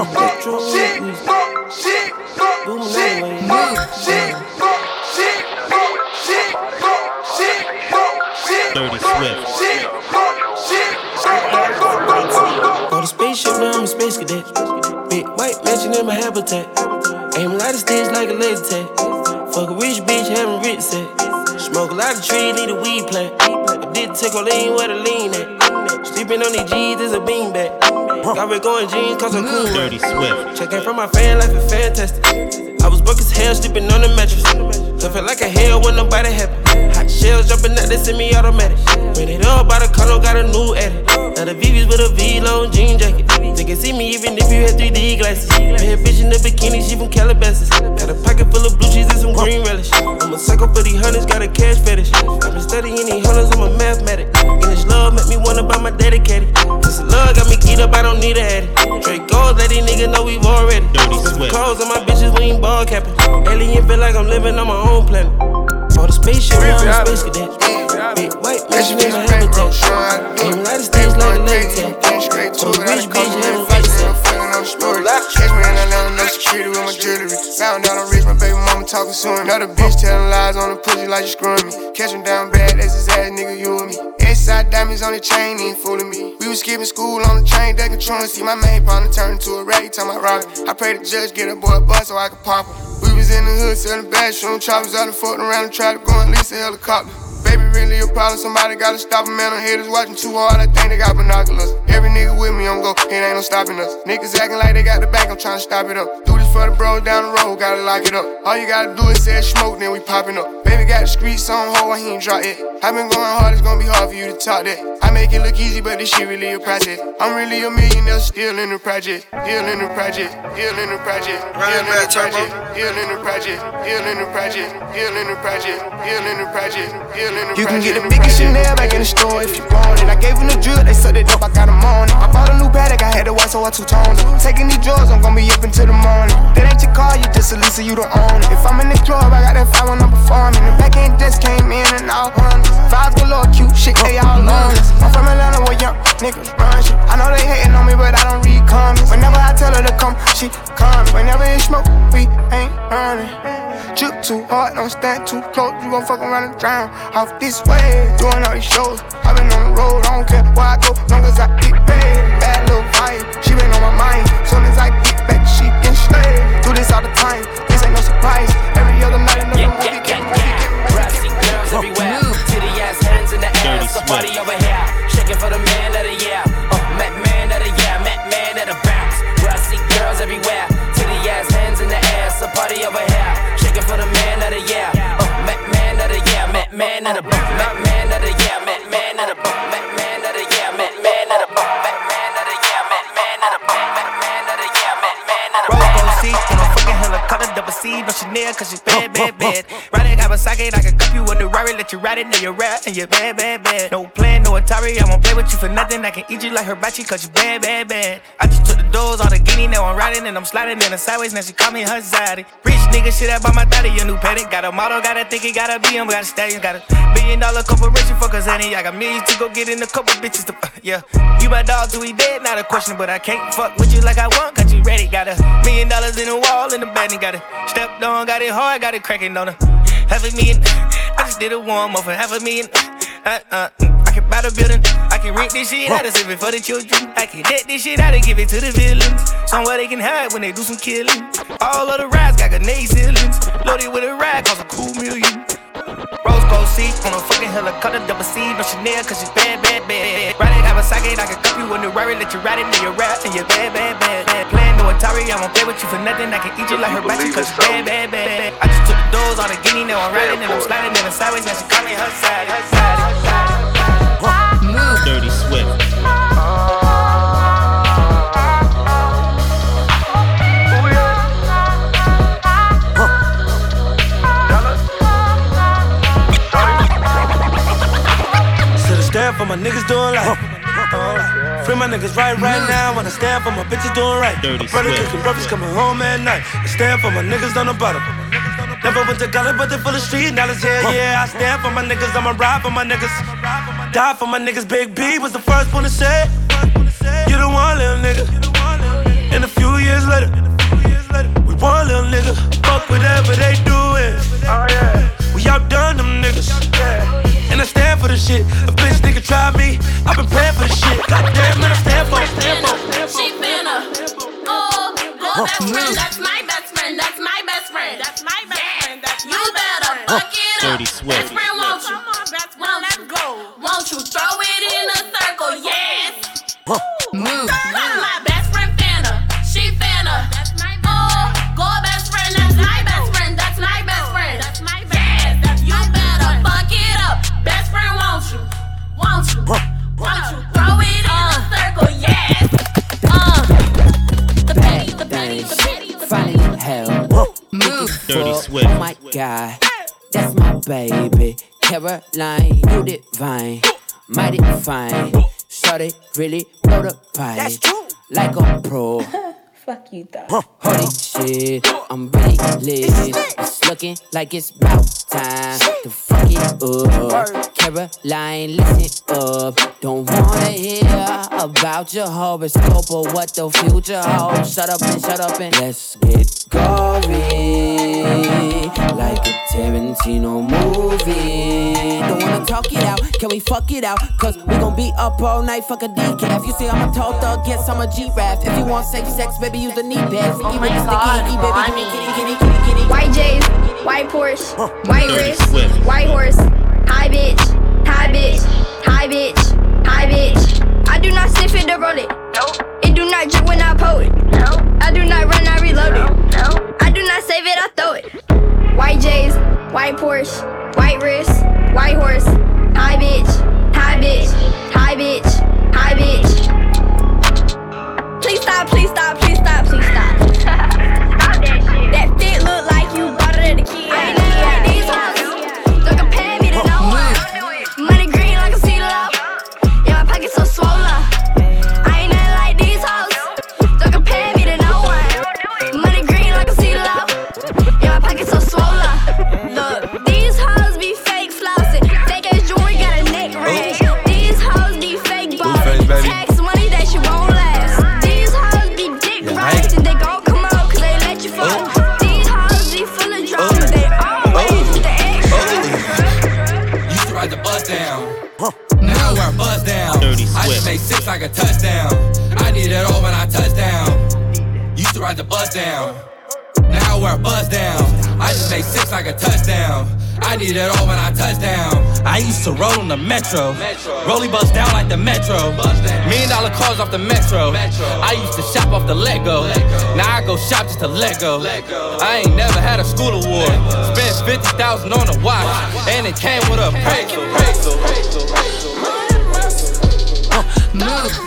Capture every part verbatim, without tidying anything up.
Metro shit, East. fuck shit, fuck Boom, shit, anyway. fuck shit, fuck shit, fuck shit, fuck shit, fuck shit, Dirty fuck Swift. shit, fuck shit, fuck, fuck, fuck, fuck, fuck, fuck. On the spaceship, now I'm a space cadet. Big white mansion in my habitat. Aim a lot of sticks like a laser tag. Fuck a rich bitch, having rich set. Smoke a lot of trees, need a weed plant. I did take a lean where the lean at. Sleeping on these G's is a beanbag. Got red going jeans, cause I'm cool. Dirty Swift. Checking from my fan life is fantastic. I was broke as hell, sleeping on the mattress. So felt like a hell when nobody happy. Hot shells jumping out, they send me automatic. Ran it up by the condo, got a new edit. Now the V V's with a V-long jean jacket. They can see me even if you had three D glasses. Bad bitch in the bikini, she from Calabasas. Got a pocket full of blue cheese and some green relish. I'm a psycho for these hunters, got a cash fetish. I've been studying these hunters, I'm a mathematic. And this love make me wanna buy my dedicated. This love got me keyed up, I don't need a addict. Straight goals, let these niggas know we've already. Dirty Swift. Calls on my bitches, we ain't ball capping. Alien feel like I'm living on my own planet. For the spaceship, I'm a space cadet. Big white mansion in my habitat. Aim a lot of sticks like a laser tag. So rich bitch, having right set. Catch me in Atlanta, no security with my jewelry. Found out I'm rich, my baby mama talking to him. Another bitch telling lies on the pussy like you screwing me. Catch him down bad, that's his ass, nigga, you and me. S-side diamonds on the chain, ain't fooling me. We was skipping school on the train, they controlling. See my main partner turn into a rag, time I rock it. I pray the judge get a boy a bus so I could pop him. We was in the hood selling bad, shooting choppers out and fucking around and try to go and lease a helicopter. Baby, really a problem, somebody gotta stop him, man. I'm haters watching too hard, I think they got binoculars. Every nigga with me, I'm go, it ain't no stopping us. Niggas acting like they got the back, I'm trying to stop it up. Do this for the bros down the road, gotta lock it up. All you gotta do is say smoke, then we popping up. Baby got the streets on hold, he ain't drop it. I been going hard, it's gonna be hard for you to talk that. I make it look easy, but this shit really a process. I'm really a millionaire, still in the project. Still in the project, still in the project. Still in the project, still in the project. Still in the project, still in the project. Still in the project, still in the project. You can get the biggest Chanel back in the store if you want it. I gave him the drill, they sucked it up, I got them on it. I bought a new Patek, I had to white, so I two-toned it. Taking these drugs, I'm gonna be up until the morning. That ain't your car, you just a Lisa, you don't own it. If I'm in the club, I got that five when I'm performing. The back end just came in and all hundreds. Fives galore, cute shit, they all honest. I'm from Atlanta where young niggas run shit. I know they hating on me, but I don't read comments. Whenever I tell her to come, she come. Whenever it's smoke, we ain't running. Drip too hard, don't stand too close. You gon' fuck around and drown off this way. Doing all these shows, I been on the road. I don't care where I go, long as I get paid. Bad little vibe, she been on my mind. Soon as I get back, she can stay. Do this all the time, this ain't no surprise. Every other night, another yeah, movie, yeah, yeah, yeah. Brassy girls everywhere, titty ass hands in the air. Somebody over here, shaking for the man of the year. Uh, Mac man of the year, Mac man of the bounce. Brassy girls everywhere, titty ass hands in the air. Somebody over here, shaking for the man of the year. Uh, Mac man of the year, Mac man of the bounce. Mac man of the year, Mac man of the bounce. Mac man of the year, Mac man of the bounce. Mac man of the year, Mac man of the bounce. Mac man of the year, Mac man of the bounce. Roll seat on a fucking helicopter, double C, no Chanel, cause she's bad, bad, bad. Riding Kawasaki, I can cup you with the Rari, let you ride it, now you're rap, and you're bad, bad, bad. No plan, no Atari, I won't play with you for nothing. I can eat you like hibachi, cause you bad, bad, bad. I just took the doors on the guinea, now I'm riding, and I'm sliding in the sideways, now she call me her zaddy. Rich nigga, shit, I bought my daddy a new Patek. Got a model, got a think it gotta be him, got a stallion, got a billion dollar corporation for Kazani. I got millions to go get in a couple bitches to, uh, yeah. You my dog till we dead, not a question, but I can't fuck with you like I want, cause you ready. Got a million dollars in the wall, in the bed, and got it stepped on, got it hard, got it cracking on her. Half a million, I just did a warm up for half a million. Uh, uh, I can buy the building, I can rent this shit out and save it for the children. I can debt this shit out and give it to the villains. Somewhere they can hide when they do some killing. All of the rides got grenade ceilings. Loaded with a ride, cost a cool million. Rose gold seat on a fucking helicopter, double C, no Chanel, cause she's bad, bad, bad. Riding Kawasaki, I can cup you in the Rari, let you ride it, now you're rap, and you're bad, bad, bad. Playing no Atari, I won't play with you for nothing. I can eat you like hibachi, cause you bad, bad, bad. I just took the doors on the guinea, now I'm riding, and I'm sliding in the sideways, now she call me her side, her side. Dirty Swift. Stand for my niggas doing life. Uh, free my niggas right right now. Wanna stand for my bitches doing right. Dirty My brother Swift. cooking breakfast coming home at night. I stand for my niggas on the bottom. Never went to college, but they full of street knowledge. Yeah, yeah. I stand for my niggas. I'ma ride for my niggas. Die for my niggas. Big B was the first one to say, you the one, little nigga. And a few years Your best friend, that's my best friend. That's my best friend. That's my best friend. That's my you better fuck it up. Dirty Swift. Best friend, won't you? Come on, best friend, let's go. Won't you throw it in a circle? Yes. Move. That's my best friend, Fanta. She Fanta. That's my best friend. Oh, go best friend. That's my best friend. That's my best friend. That's my best friend. Yes. You better fuck it up. Best friend, won't you? Won't you? Won't you throw it in a circle? Yes. Uh. The petty, the petty, the petty, the petty. Finally hell. Move. Dirty Swift. Oh my God, that's my baby. Caroline, you divine, mighty fine. Shorty really blow the pipe. That's true. Like a pro. Fuck you, though. Holy shit, I'm really lit. It's looking like it's about time to fuck it up. Caroline, listen up. Don't wanna hear about your horoscope or what the future holds. Shut up and shut up and let's get gory, like a Tarantino movie. Don't wanna talk it out, can we fuck it out? Cause we gon' be up all night, fuck a decaf. You see I'm a tall thug, yes I'm a G-Rap. If you want safe sex, baby, use a knee pad. Oh my God, baby, kitty, kitty, kitty, kitty. White J's, white Porsche, white wrist, white horse. Hi bitch, hi bitch, hi bitch, hi bitch. I do not sniff it to roll it. Nope. It do not drip when I pull it. Nope. I do not run, I reload it. Nope. I do not save it, I throw it. White J's, white Porsche, white wrist, white horse. Hi bitch, hi bitch, hi bitch, hi bitch. Please stop, please stop, please stop, please stop. Stop that shit. That fit look like you bought it at the key. I ain't nothing like these hoes. Don't compare me to no one. Money green like a sea love. Yeah, my pocket's so swollen. I ain't nothing like these hoes. Don't compare me to no one. Money green like a sea love. Yeah, my pocket's so swollen. Look, these hoes be fake flossing. Fake ass jewelry got a neck ring. These hoes be fake ballin'. Tax money that she won't last. These hoes be dick riding. They gon' come out cause they let you fuck. These hoes be full of drama. They always with the extra. Used to ride the bus down. Now we're buzz down. Dirty I just Swift. made six like a touchdown. I need it all when I touch down. Used to ride the bus down. Now we're buzz down. I just made six like a touchdown. I need it all when I touch down. I used to roll on the metro. Rollie bust down like the metro. Million dollar cars off the metro. I used to shop off the Lego. Now I go shop just to let go. I ain't never had a school award. Spent fifty thousand on a watch. And it came with a appraisal. Move.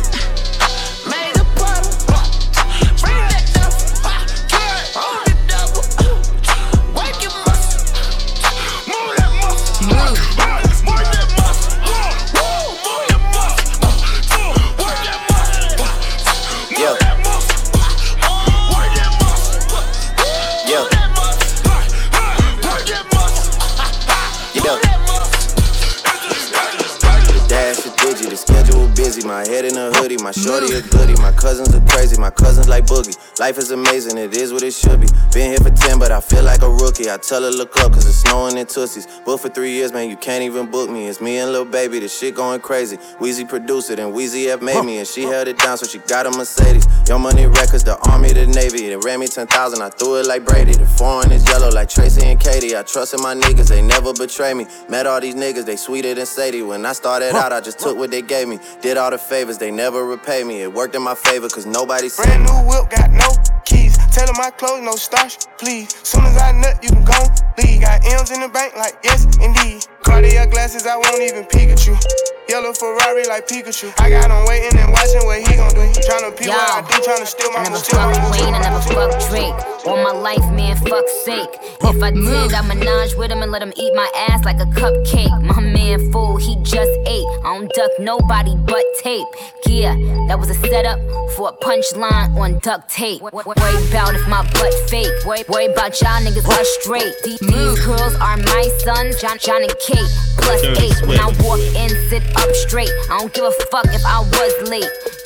My head in a hoodie, my shorty a goodie. My cousins are crazy, my cousins like Boogie. Life is amazing, it is what it should be. Been here for ten, but I feel like a rookie. I tell her look up, cause it's snowing in Tootsies. Booked for three years, man, you can't even book me. It's me and Lil Baby, the shit going crazy. Weezy produced it, and Weezy F made me. And she held it down, so she got a Mercedes. Young Money Records, the Army, the Navy. They ran me ten thousand, I threw it like Brady. The foreign is yellow like Tracy and Katie. I trusted my niggas, they never betray me. Met all these niggas, they sweeter than Sadie. When I started out, I just took what they gave me. Did all the favors, they never repay me. It worked in my favor, cause nobody said brand new whip, got no keys. Tell her my clothes, no starch, please. Soon as I nut, you can go leave. Got M's in the bank, like yes, indeed. Cartier glasses, I won't even peek at you. Yellow Ferrari like Pikachu. I got him waiting and watching what he gon' do. Tryna pee what I do, tryna steal my I never fuck Wayne, I never fuck Drake. All my life, man, fuck's sake. If I did, I menage with him and let him eat my ass like a cupcake. My man fool, he just ate. I don't duck nobody but tape. Yeah, that was a setup for a punchline on duct tape. Worry about if my butt fake. Worry, worry about y'all niggas are straight. These, these girls are my sons, John, John and Kate. Plus eight. When I walk in, sit up straight. I don't give a fuck if I was late.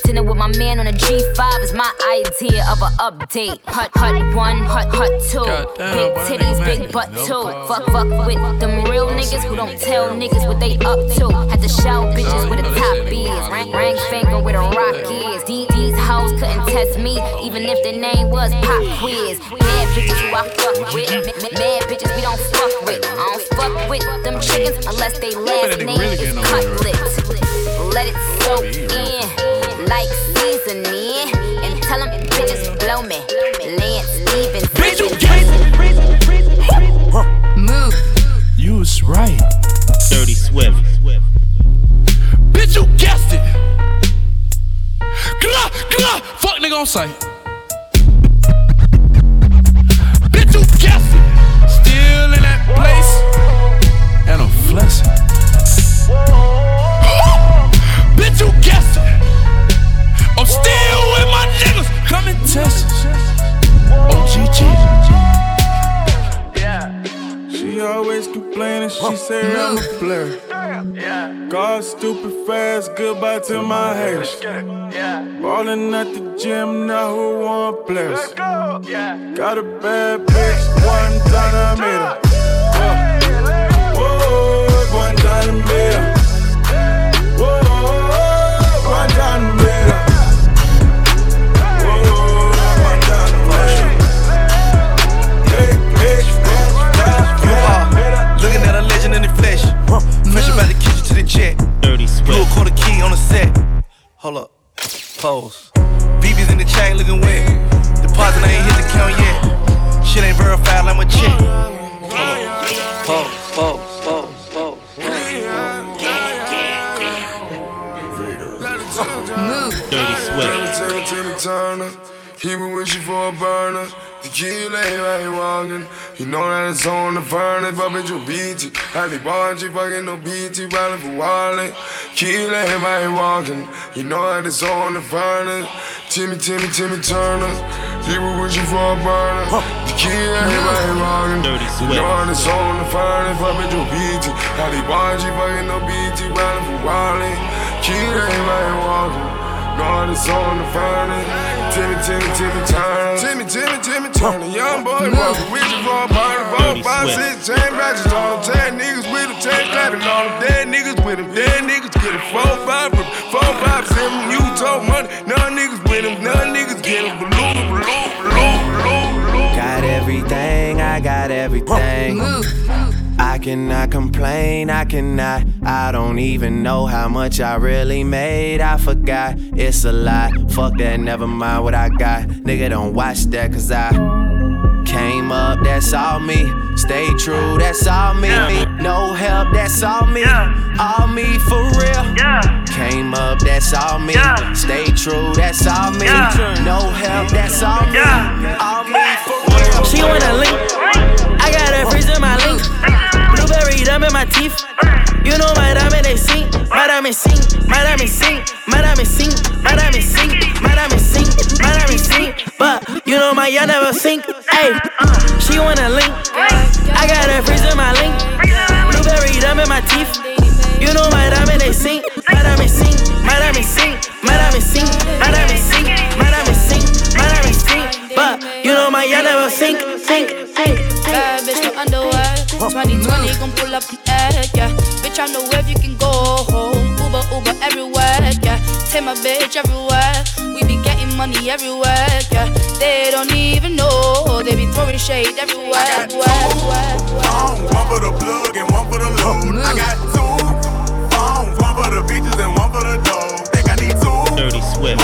Dinner with my man on a G five is my idea of an update. Hut, hut one, hut, hut two. Big titties, big butt too. Fuck, fuck with them real niggas who don't tell niggas what they up to. Had to shout bitches with a top is. Ring, ring finger with a rock is. These, these hoes couldn't test me, even if their name was Pop Quiz. Mad bitches who I fuck with. Mad bitches we don't fuck with. I don't fuck with them chickens unless they last name is Cutlet. Let it soak in like seasoning. And tell them bitches blow me. Lance Stevens. Bitch, you guessed it. Move. You was right. Dirty Swift. Bitch, you guessed it. Glah, glah. Fuck nigga on sight. Bitch, you guessed it. Still in that place. And I'm flexing. Bitch, you guessed it. I'm still with my niggas. Come and test it. O G G. She always complaining, she say I'm a player. God stupid fast, goodbye to my haters. Ballin' at the gym, now who want players? Got a bad bitch, one time I made her. Whoa, one time I made her. Whoa, one time I made her. Looking at a legend in the flesh. Fresh about the kitchen to the jet. Blue quarter key on the set. Hold up. Pose. B B's in the chain looking wet. Deposit I ain't hit the count yet. Shit ain't verified like my check. Hold up. Pose, pose, pose, pose. Dirty Swift. He been wishing for a burner. Tequila, he ain't walking. You know that it's on the furnace, but bitch, you beat it. I be watching, fucking no B T, ballin' for wallet. Killa, he ain't walking. You know that it's on the furnace. Timmy, Timmy, Timmy Turner. He been wishing for a burner. Tequila, he ain't walking. You know that it's on the furnace, but bitch, you beat it. I be watching, fucking no B T, ballin' for wallet. Killa, he ain't walking. God is on the furnace. Timmy, Timmy, Timmy Turner. Timmy, Timmy, Timmy Turner. Young boy, walking with you for a party. Four, five, six, chain ratchets on them. Ten niggas with them, ten clapping on them. Dead niggas with them, dead niggas get them. Four, five, four, five, seven. You told money. None niggas with them, none niggas get them. Balloon, balloon, balloon, balloon. Got everything, I got everything. I cannot complain, I cannot. I don't even know how much I really made. I forgot, it's a lot. Fuck that, never mind what I got. Nigga, don't watch that, cause I came up, that's all me. Stay true, that's all me. No help, that's all me. All me for real. Came up, that's all me. Stay true, that's all me. No help, that's all me. All me for real. She wanna link, I got her freeze in my link. Blueberry dumb in my teeth. You know my diamond they sing, my diamond sing, my diamond sing, my diamond sing, my diamond sing, my diamond sing, my diamond sing. But you know my y'all never sink. Hey, she wanna link, I got her freeze in my link. Blueberry dumb in my teeth. You know my diamond they sing, my diamond sing, my diamond sing, my diamond sing, my diamond sing, my diamond sing, my diamond sing. But you know my y'all never sink, sink, sink. Bad bitch, no underwear. twenty twenty, gon' pull up the egg, yeah. Bitch, I know where you can go home. Uber, Uber everywhere, yeah. Take my bitch everywhere. We be getting money everywhere, yeah. They don't even know. They be throwing shade everywhere. I got two phones, one for the plug and one for the load. I got two phones, one for the bitches and one for the dough. Think I need two. Dirty Swift.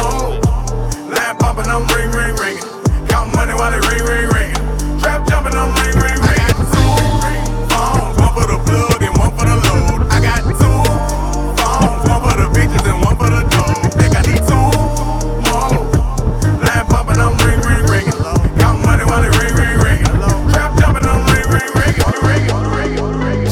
Lamp poppin', I'm ring, ring, ringing. Count money while they ring, ring, ringing. Trap jumping, I'm ring, ring, ringing. I got two phones, one for the plug and one for the load. I got two phones, one for the bitches and one for the dough. Think I need two more. Lamp poppin', I'm ring, ring, ringing. Count money while they ring, ring, ringing. Trap jumping, I'm ring, ring, ringing, ringing, ringing.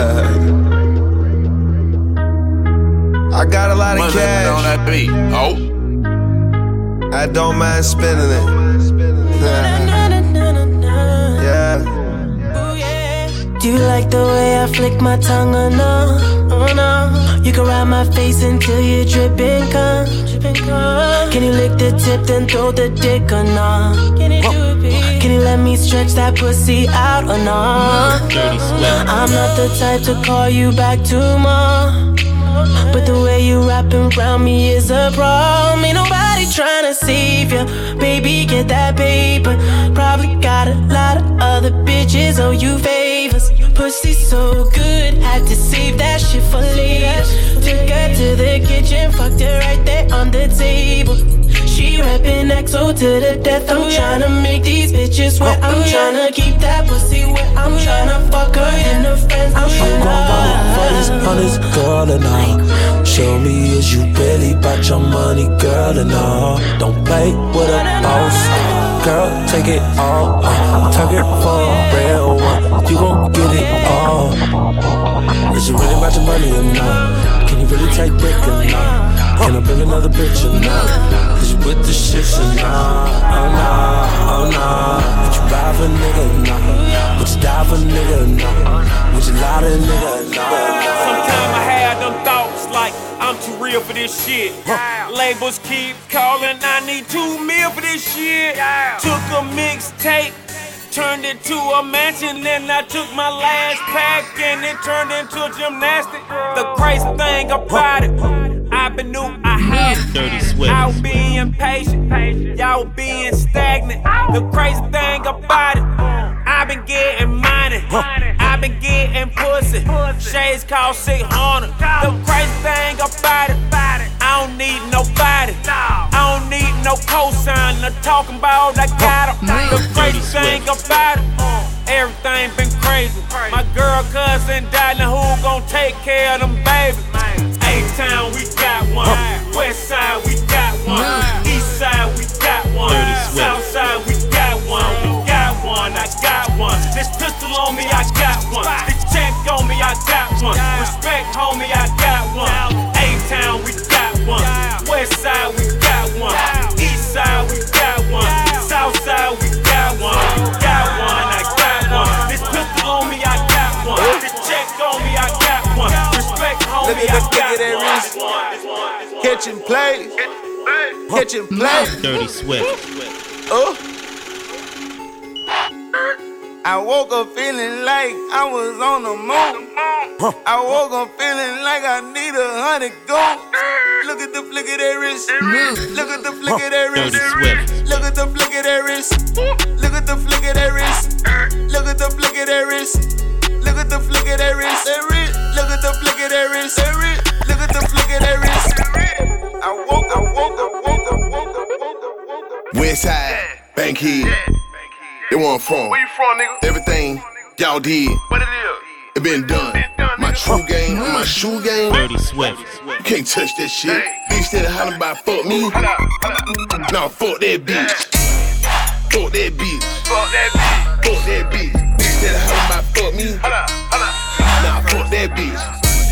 I got a lot of cash on that beat. Oh, I don't mind spending it. Yeah. Do you like the way I flick my tongue or no? Oh no. You can ride my face until you're dripping cum. dripping cum. Can you lick the tip then throw the dick or not? Can you do it, babe? Can you let me stretch that pussy out or not? I'm not the type to call you back tomorrow, but the way you wrapping around me is a problem. Ain't nobody tryna save you, baby, get that paper. Probably got a lot of other bitches owe you favors. Pussy so good, had to save that shit for later. Took her to the kitchen, fucked her right there on the table. She rapping X O to the death. I'm tryna make these bitches wet. I'm tryna keep that pussy wet. I'm tryna fuck her and her friends. I'm tryna for this, on this girl and all. Show me is you really about your money, girl, and all. Don't play with a boss, girl, take it all. Tuck it for a real one, you gon' get it all. Is you really about your money or not? Can you really take dick or not? Can I bring another bitch or not? Is you with the shits or not? Oh nah, oh nah. Would you ride for a nigga or not? Would you die for a nigga or not? Would you lie to a nigga or not? Sometimes I had them thoughts like I'm too real for this shit. Yeah. Labels keep calling, I need two mil for this shit. Yeah. Took a mixtape, turned it to a mansion, then I took my last pack and it turned into gymnastics. The crazy thing about it, I been knew I had it. Dirty Swift. I was being patient, y'all being stagnant. The crazy thing about it, I been getting money, I been getting pussy. Shades cost six hundred. The crazy thing about it, I don't need nobody. I don't need no cosign. I'm talking about I got em. The crazy thing about it, everything been crazy. My girl cousin died, now who gon' take care of them babies? A-Town, we got one. West side, we got one. East side, we got one. South side, we got one. We got one, I got one. This pistol on me, I got one. This check on me, I got one. Respect, homie, I got one. A-Town, we got one. West side, we got one. East side, we got one. South side, we got one. We got one, I got one. This pistol on me, I got one. This check on me, I got one. Respect, homie, I got one. Catch and play. Catch and play. Dirty Swift. Oh. I woke up feeling like I was on the moon. I woke up feeling like I need a hundred gold. Look at the flick of that wrist. Look at the flick of that wrist. Look at the flick of that wrist. Look at the flick of that wrist. Look at the flick of that wrist. Look at the flick of that wrist. Look at the flick of that wrist. Look at the flick of that wrist. I woke up, woke up, woke up, woke up, woke up. Westside, Bankhead. They where I'm from. Where you from, nigga? Everything y'all did. What it is? It been done. Been done my true game, my shoe game. Dirty Swift. You can't touch that shit. Bitch that hollering about fuck me. Nah, fuck that bitch. Fuck that bitch. Fuck that bitch. Fuck that bitch. Bitch that hollering about fuck me. Nah, fuck that bitch.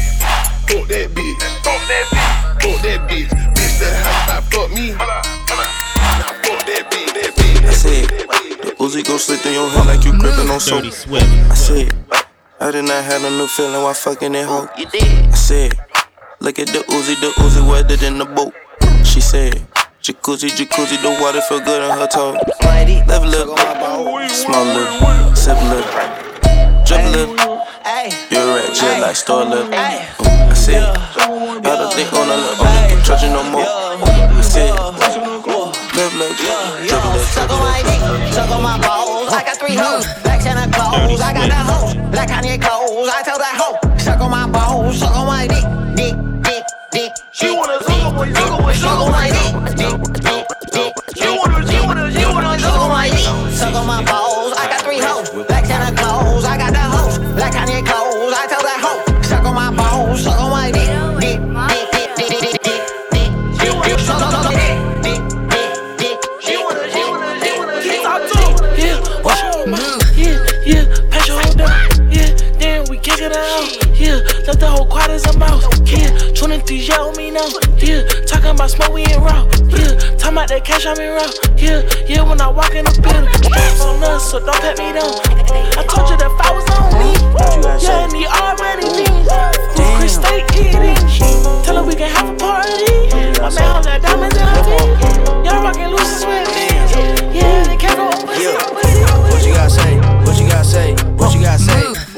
Fuck that bitch. Fuck that bitch. Fuck that bitch. Bitch that hollering about fuck me. Nah, fuck that bitch. That bitch. I said, the Uzi gon' slip through your head like you gripping on soap. Dirty Swift. I said, I did not have a new feeling while fucking that hoe. I said, look at the Uzi, the Uzi wetter than the boat. She said, jacuzzi, jacuzzi, the water feel good on her toe. Level up, small little, sip a little, drip a little. You're a rat, just like store lip. I said, I don't think on a little, on the trudging no more. I said, live like, drip a little. Suck on my dick, suck on my balls. I got three hoes, black Santa Claus. I got the hoes, black Kanye clothes. I tell that hoe, suck on my balls, suck on my dick, dick, dick, dick. She wanna suck on my dick, suck on my dick, dick, dick, dick. She wanna, she wanna, she wanna suck on my dick, suck on my balls. I got three hoes, black Santa Claus. I got the hoes, black Kanye clothes. I tell that hoe, suck on my balls, suck on my dick, dick, dick, dick, dick, dick, dick, dick. She wanna suck on my dick, dick, dick, dick. She wanna, she wanna, she wanna, she wanna. Yeah, watch your mouth. Yeah, yeah, patch your hold down. Yeah, then we kick it out. Yeah, left the whole quad as a mouse. Yeah, twenty-three yell me now. Yeah, talking about smoke, we ain't raw. Yeah, talking about that cash, I'm in raw. Yeah, yeah, when I walk in the building, it's on us, so don't pat me down. I told you that if I was on me, yeah, and he already means. Chris stay eating. Tell her we can have a party. My man on that diamond.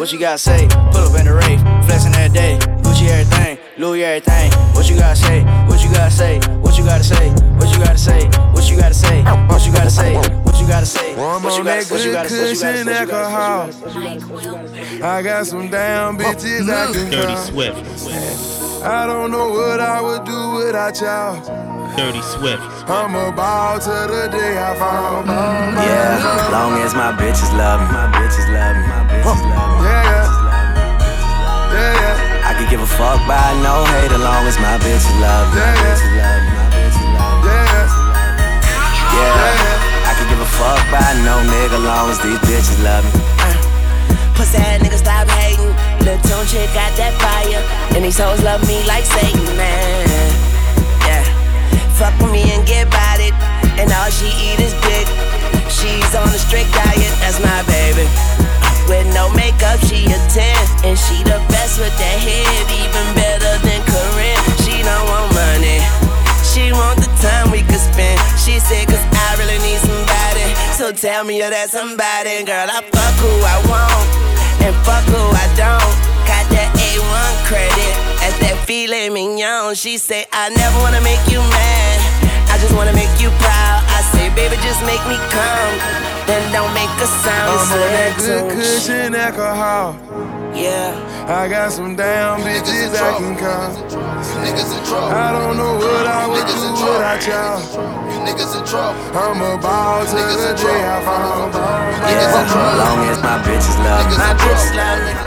What you gotta say? Pull up in the rave, flexing every day. Gucci everything, Louis everything. What you gotta say? What you gotta say? What you gotta say? What you gotta say? What you gotta say? What you gotta say? What you gotta say? I'm on that good cushion alcohol. I got some damn bitches I can Dirty call. Swift. I don't know what I would do without y'all. Dirty Swift. I'm about to the day I found my Yeah, long as my bitches love me, my bitches love me, my bitches love me. Yeah, yeah, yeah, yeah. I could give a fuck by no hate, as long as my bitches love me, my bitches love me, my bitches love me. Yeah, yeah. I could give a fuck by no nigga, as long as these bitches love me. Pussy ass nigga stop hating. Lil' Tune chick got that fire, and these hoes love me like Satan, man. Yeah, fuck with me and get about it, and all she eat is dick. She's on a strict diet, that's my baby. With no makeup, she a ten, and she the best with that head, even better than Corinne. She don't want money, she want the time we could spend. She said, cause I really need somebody, so tell me you're that somebody. Girl, I fuck who I want, and fuck who I don't. Got that A one credit, at that filet mignon. She say, I never wanna make you mad, I just wanna make you proud. I say, baby, just make me come, then don't make a sound. I'm on that good cushion alcohol. Yeah, I got some damn bitches I can call. I don't know what I would do without y'all. I'm about to the day I found my Yeah, as long as my bitches love me, my bitches love me.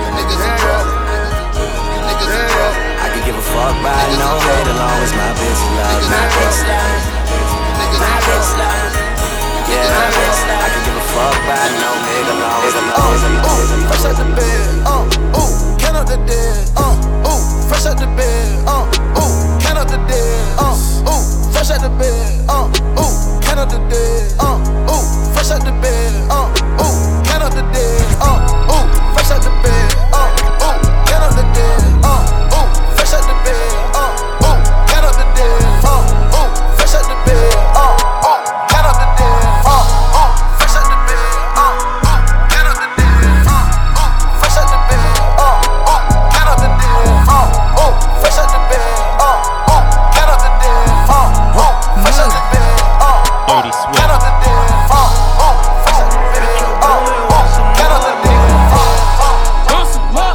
I could give a fuck by no hate, as long as my bitches love me, my bitches love me. My bitch love me. Yeah, I could give a fuck by no nigga, as long as I know. Fresh out the bed, uh, ooh, count up the dead, uh, ooh, fresh out the bed, uh, ooh, count up the dead, uh, ooh, fresh out the bed, uh, ooh, count up the dead, uh, ooh, fresh out the bed, uh, ooh, count up the dead, uh, ooh, fresh out the bed, uh, ooh, count up the dead, uh, ooh, fresh out the bed, uh, ooh, count up the dead, uh, ooh, fresh out the bed, uh, ooh, count up the dead, uh, ooh, fresh out the bed, uh, ooh, count up the dead, uh, ooh, fresh out the bed, uh, ooh, count up the dead, uh, ooh, fresh out the bed, uh, ooh, count up the dead, uh, ooh, fresh out the bed, uh, Dirty Swift. count up the dead, uh, ooh, fresh out the bed, uh, ooh, count up the dead, uh, uh. Want some more?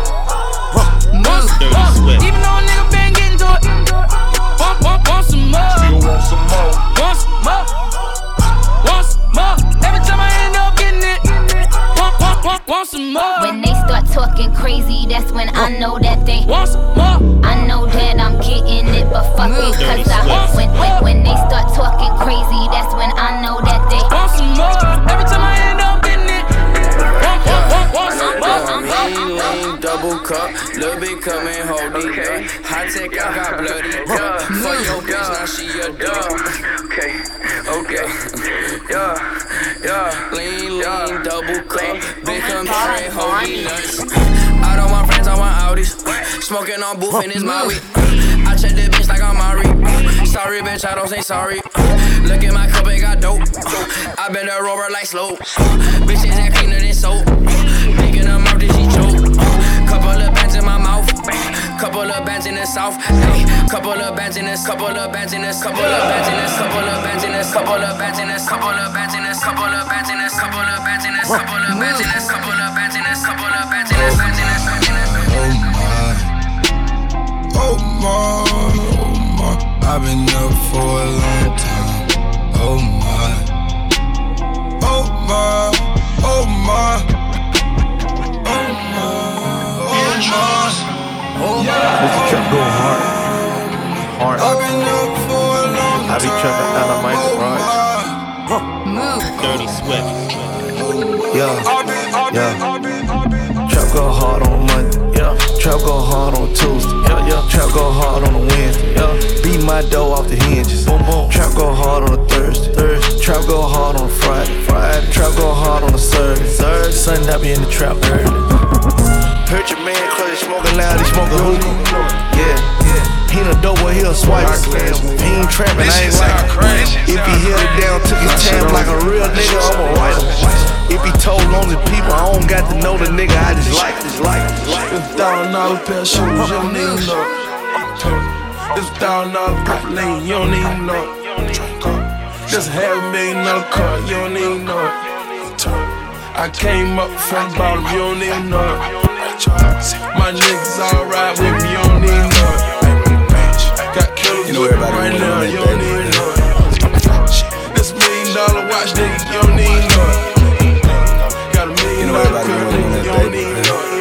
Want some Dirty more? Swift. Even though a nigga been getting to it. Want, want, want some more? Still want some more? Want some more? Want some more? Every time I end up getting it. Want, want, want, want some more? When they start talking crazy, that's when I know that they want some more. I know that I'm getting it, but fuck it, cause I when, when, when they start talking crazy, that's when I know that they want some more. Every time I end up getting it. Want, want, want, want some more. Lean, lean, double cup, little bit coming, hold it up. High tech, I got bloody cup. For your bitch, now she a dog. Okay, okay, yeah, yeah. Lean, lean, double cup, big coming, hold it nuts. I don't want friends, I want Audis. Smoking on booth and it's my weed. I check the bitch like I'm Mari. Sorry, bitch, I don't say sorry. Look at my cup, it got dope. I been a rover like slow. Bitches that cleaner than soap. Big in her mouth, did she choke? Couple of bands in my mouth. Couple of bands in the south. Hey, couple of bands in this. Couple of bands in this. Couple of bands in this. Couple of bands in this. Couple of bands in this. Couple of bands in this. Couple of bands in this. Couple of bands in this. Couple of bands in this. Couple of bands in this. Couple of bands in this. Bands in this. Bands in this. Oh my, oh my, I've been up for a long time. Oh my, oh my, oh my, oh my, oh my. This trap go hard, hard. I've been up for a long time. I be trapping out of my garage. Dirty Swift. Yeah, yeah. Trap go hard on Monday. Yeah, trap go hard on Tuesday. Yeah, yeah. Trap go hard on a Wednesday. Yeah, beat my dough off the hinges. Boom, boom. Trap go hard on a Thursday. Thursday. Trap go hard on a Friday. Friday. Trap go hard on a Saturday. Saturday. Sunday I be in the trap early. Heard your man cause he smoking loud, he smoking hookah. Yeah, yeah. He done dope when he a swipe. He ain't trapping, I ain't like him. If he held it down, took his time like a real nigga, I'ma write him. If be told on the people. I don't got to know the nigga, I just like, just like, just like. It's a thousand dollar pair of shoes, you don't even know it. It's a thousand dollar purple lane, you don't even know it. Just a half a million dollar car, you don't even know it. I came up from the bottom, you don't even know it. My niggas all ride with me, you don't even know it. Got killers you know everybody right now, that, you don't even know it. This million dollar watch, nigga, you don't even know it. Got a million you know dollar crib, nigga, you don't even know it.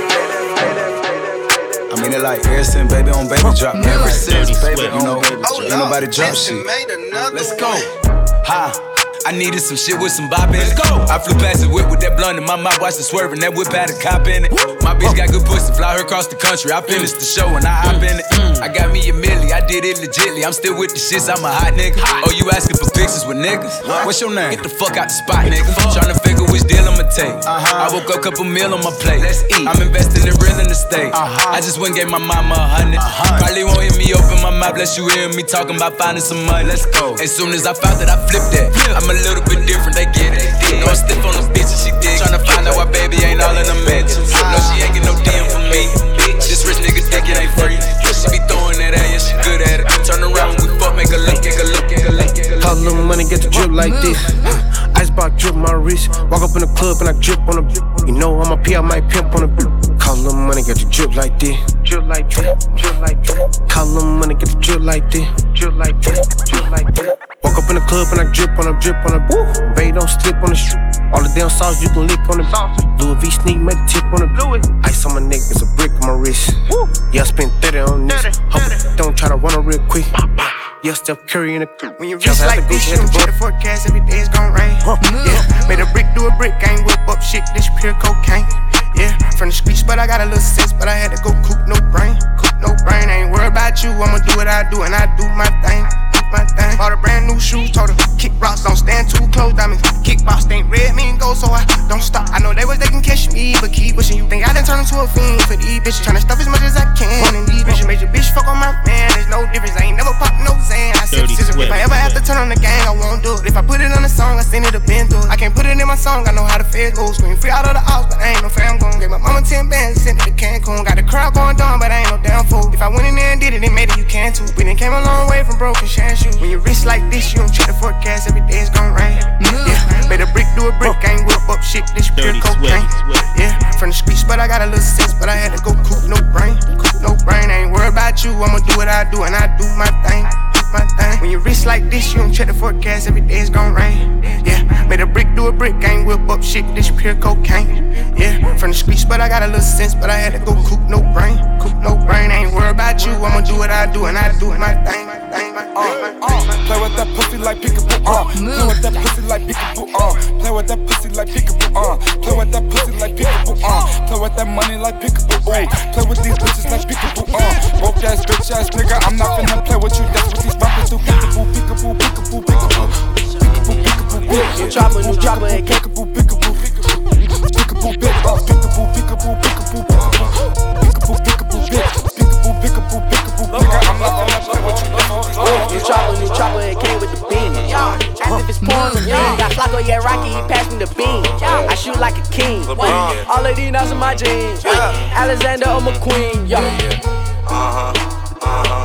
I mean, it like ever since baby on baby drop. Ever since baby, you know, ain't nobody drop shit. Let's go. Ha. I needed some shit with some bop in it. Go. I flew past the whip with that blunt in my mouth, watched it swerving. That whip had a cop in it. My bitch got good pussy, fly her across the country. I finished the show and I hop in it. I got me a milli, I did it legitly. I'm still with the shits, I'm a hot nigga. Oh, you asking for pictures with niggas? What's your name? Get the fuck out the spot, nigga. Tryna figure which deal I'ma take. I woke up, couple meal on my plate. Let's eat. I'm investing in real estate. I just went and gave my mama a hundred. Probably won't hear me open my mouth, bless you hear me talking about finding some money. Let's go. As soon as I found that, I flipped that. I'm a little bit different, they get it. No, I'm stiff on the bitch and she dig. Tryna find out why baby ain't all in the mentions. No, she ain't get no D M for me. This rich nigga think it ain't free. She be throwing that at, yeah, she good at it. Turn around when we fuck, make her look, make her look, make her look. Call a little money, get the drip like this. Icebox drip my wrist. Walk up in the club and I drip on the. You know I'm a P, I might pimp on the. Call a little money, get the drip like this. Drip like this, drip like this. Call a little money, get the drip like this. Drip like this, drip like this. Walk up in the club and I drip on a drip on a. Baby, don't slip on the street. All the damn sauce you can lick on the. Louis V sneak, make the tip on the. Ice on my neck, it's a brick on my wrist. Yeah, I spent thirty on this. Hope don't try to run her real quick. Yeah, Steph Curry in the. When you reach like this, you don't check the forecast, every day it's gon' rain. Yeah, made a brick do a brick, I ain't whip up shit, this pure cocaine. Yeah, from the streets, but I got a little sense, but I had to go coop no brain. Coop no brain, I ain't worried about you, I'ma do what I do, and I do my thing. My thing. Bought a brand new shoes, told her kick rocks, don't stand too close, diamonds. Kickbox ain't red, me and gold, so I don't stop. I know they was they can catch me, but keep pushing. You think I done turned into a fiend for these bitches? Tryna stuff as much as I can, and these bitches made your bitch fuck on my man. There's no difference, I ain't never popped no Zan. I said scissors. If I ever have to turn on the gang, I won't do it. If I put it on a song, I send it a been through it. I can't put it in my song, I know how the feds go. Scream free out of the house, but I ain't no fam gon'. Gave my mama ten bands, sent it to Cancun. Got the crowd going down, but I ain't no damn fool. If I went in there and did it, it made it, you can too. We done came a long way from broken shine shoes. When you rich like this, you don't check the forecast, every day it's gon' rain. Yeah, made a brick do a brick, I ain't whip up shit, this pure cocaine. Yeah, from the streets, but I got a little sense, but I had to go coop no brain. Coop no brain, I ain't worried about you, I'ma do what I do, and I do my thing. My thing. When you rich like this, you don't check the forecast, every day it's gon' rain. Yeah, made a brick do a brick, I ain't whip up shit, this pure cocaine. Yeah, from the streets, but I got a little sense, but I had to go coop no brain. Coop no brain, I ain't worried about you, I'ma do what I do, and I do my thing. My thing, my thing, my thing. Play with that pussy like peekaboo, uh. Play with that pussy like peekaboo, uh. Play with that pussy like peekaboo, uh. Play with that pussy like peekaboo, uh. Play with that money like peekaboo, uh. Play with these bitches like peekaboo, uh. Broke ass bitch ass nigga, I'm not finna play with you. That's what these rappers do. Peekaboo, peekaboo, peekaboo, peekaboo, peekaboo, peekaboo, peekaboo. New chopper, new chopper, and peekaboo, peekaboo, peekaboo, peekaboo, peekaboo, peekaboo, peekaboo, peekaboo, peekaboo, peekaboo, peekaboo, peekaboo, peekaboo. Nigga, I'm not finna play with you. New chopper, new chopper, it came with the beam. As if it's porn, got Flacco, yeah, Rocky, he passed me the beam. I shoot like a king. All of these nuts in my jeans. Alexander, I'm a queen. Yeah. Uh huh. Uh huh.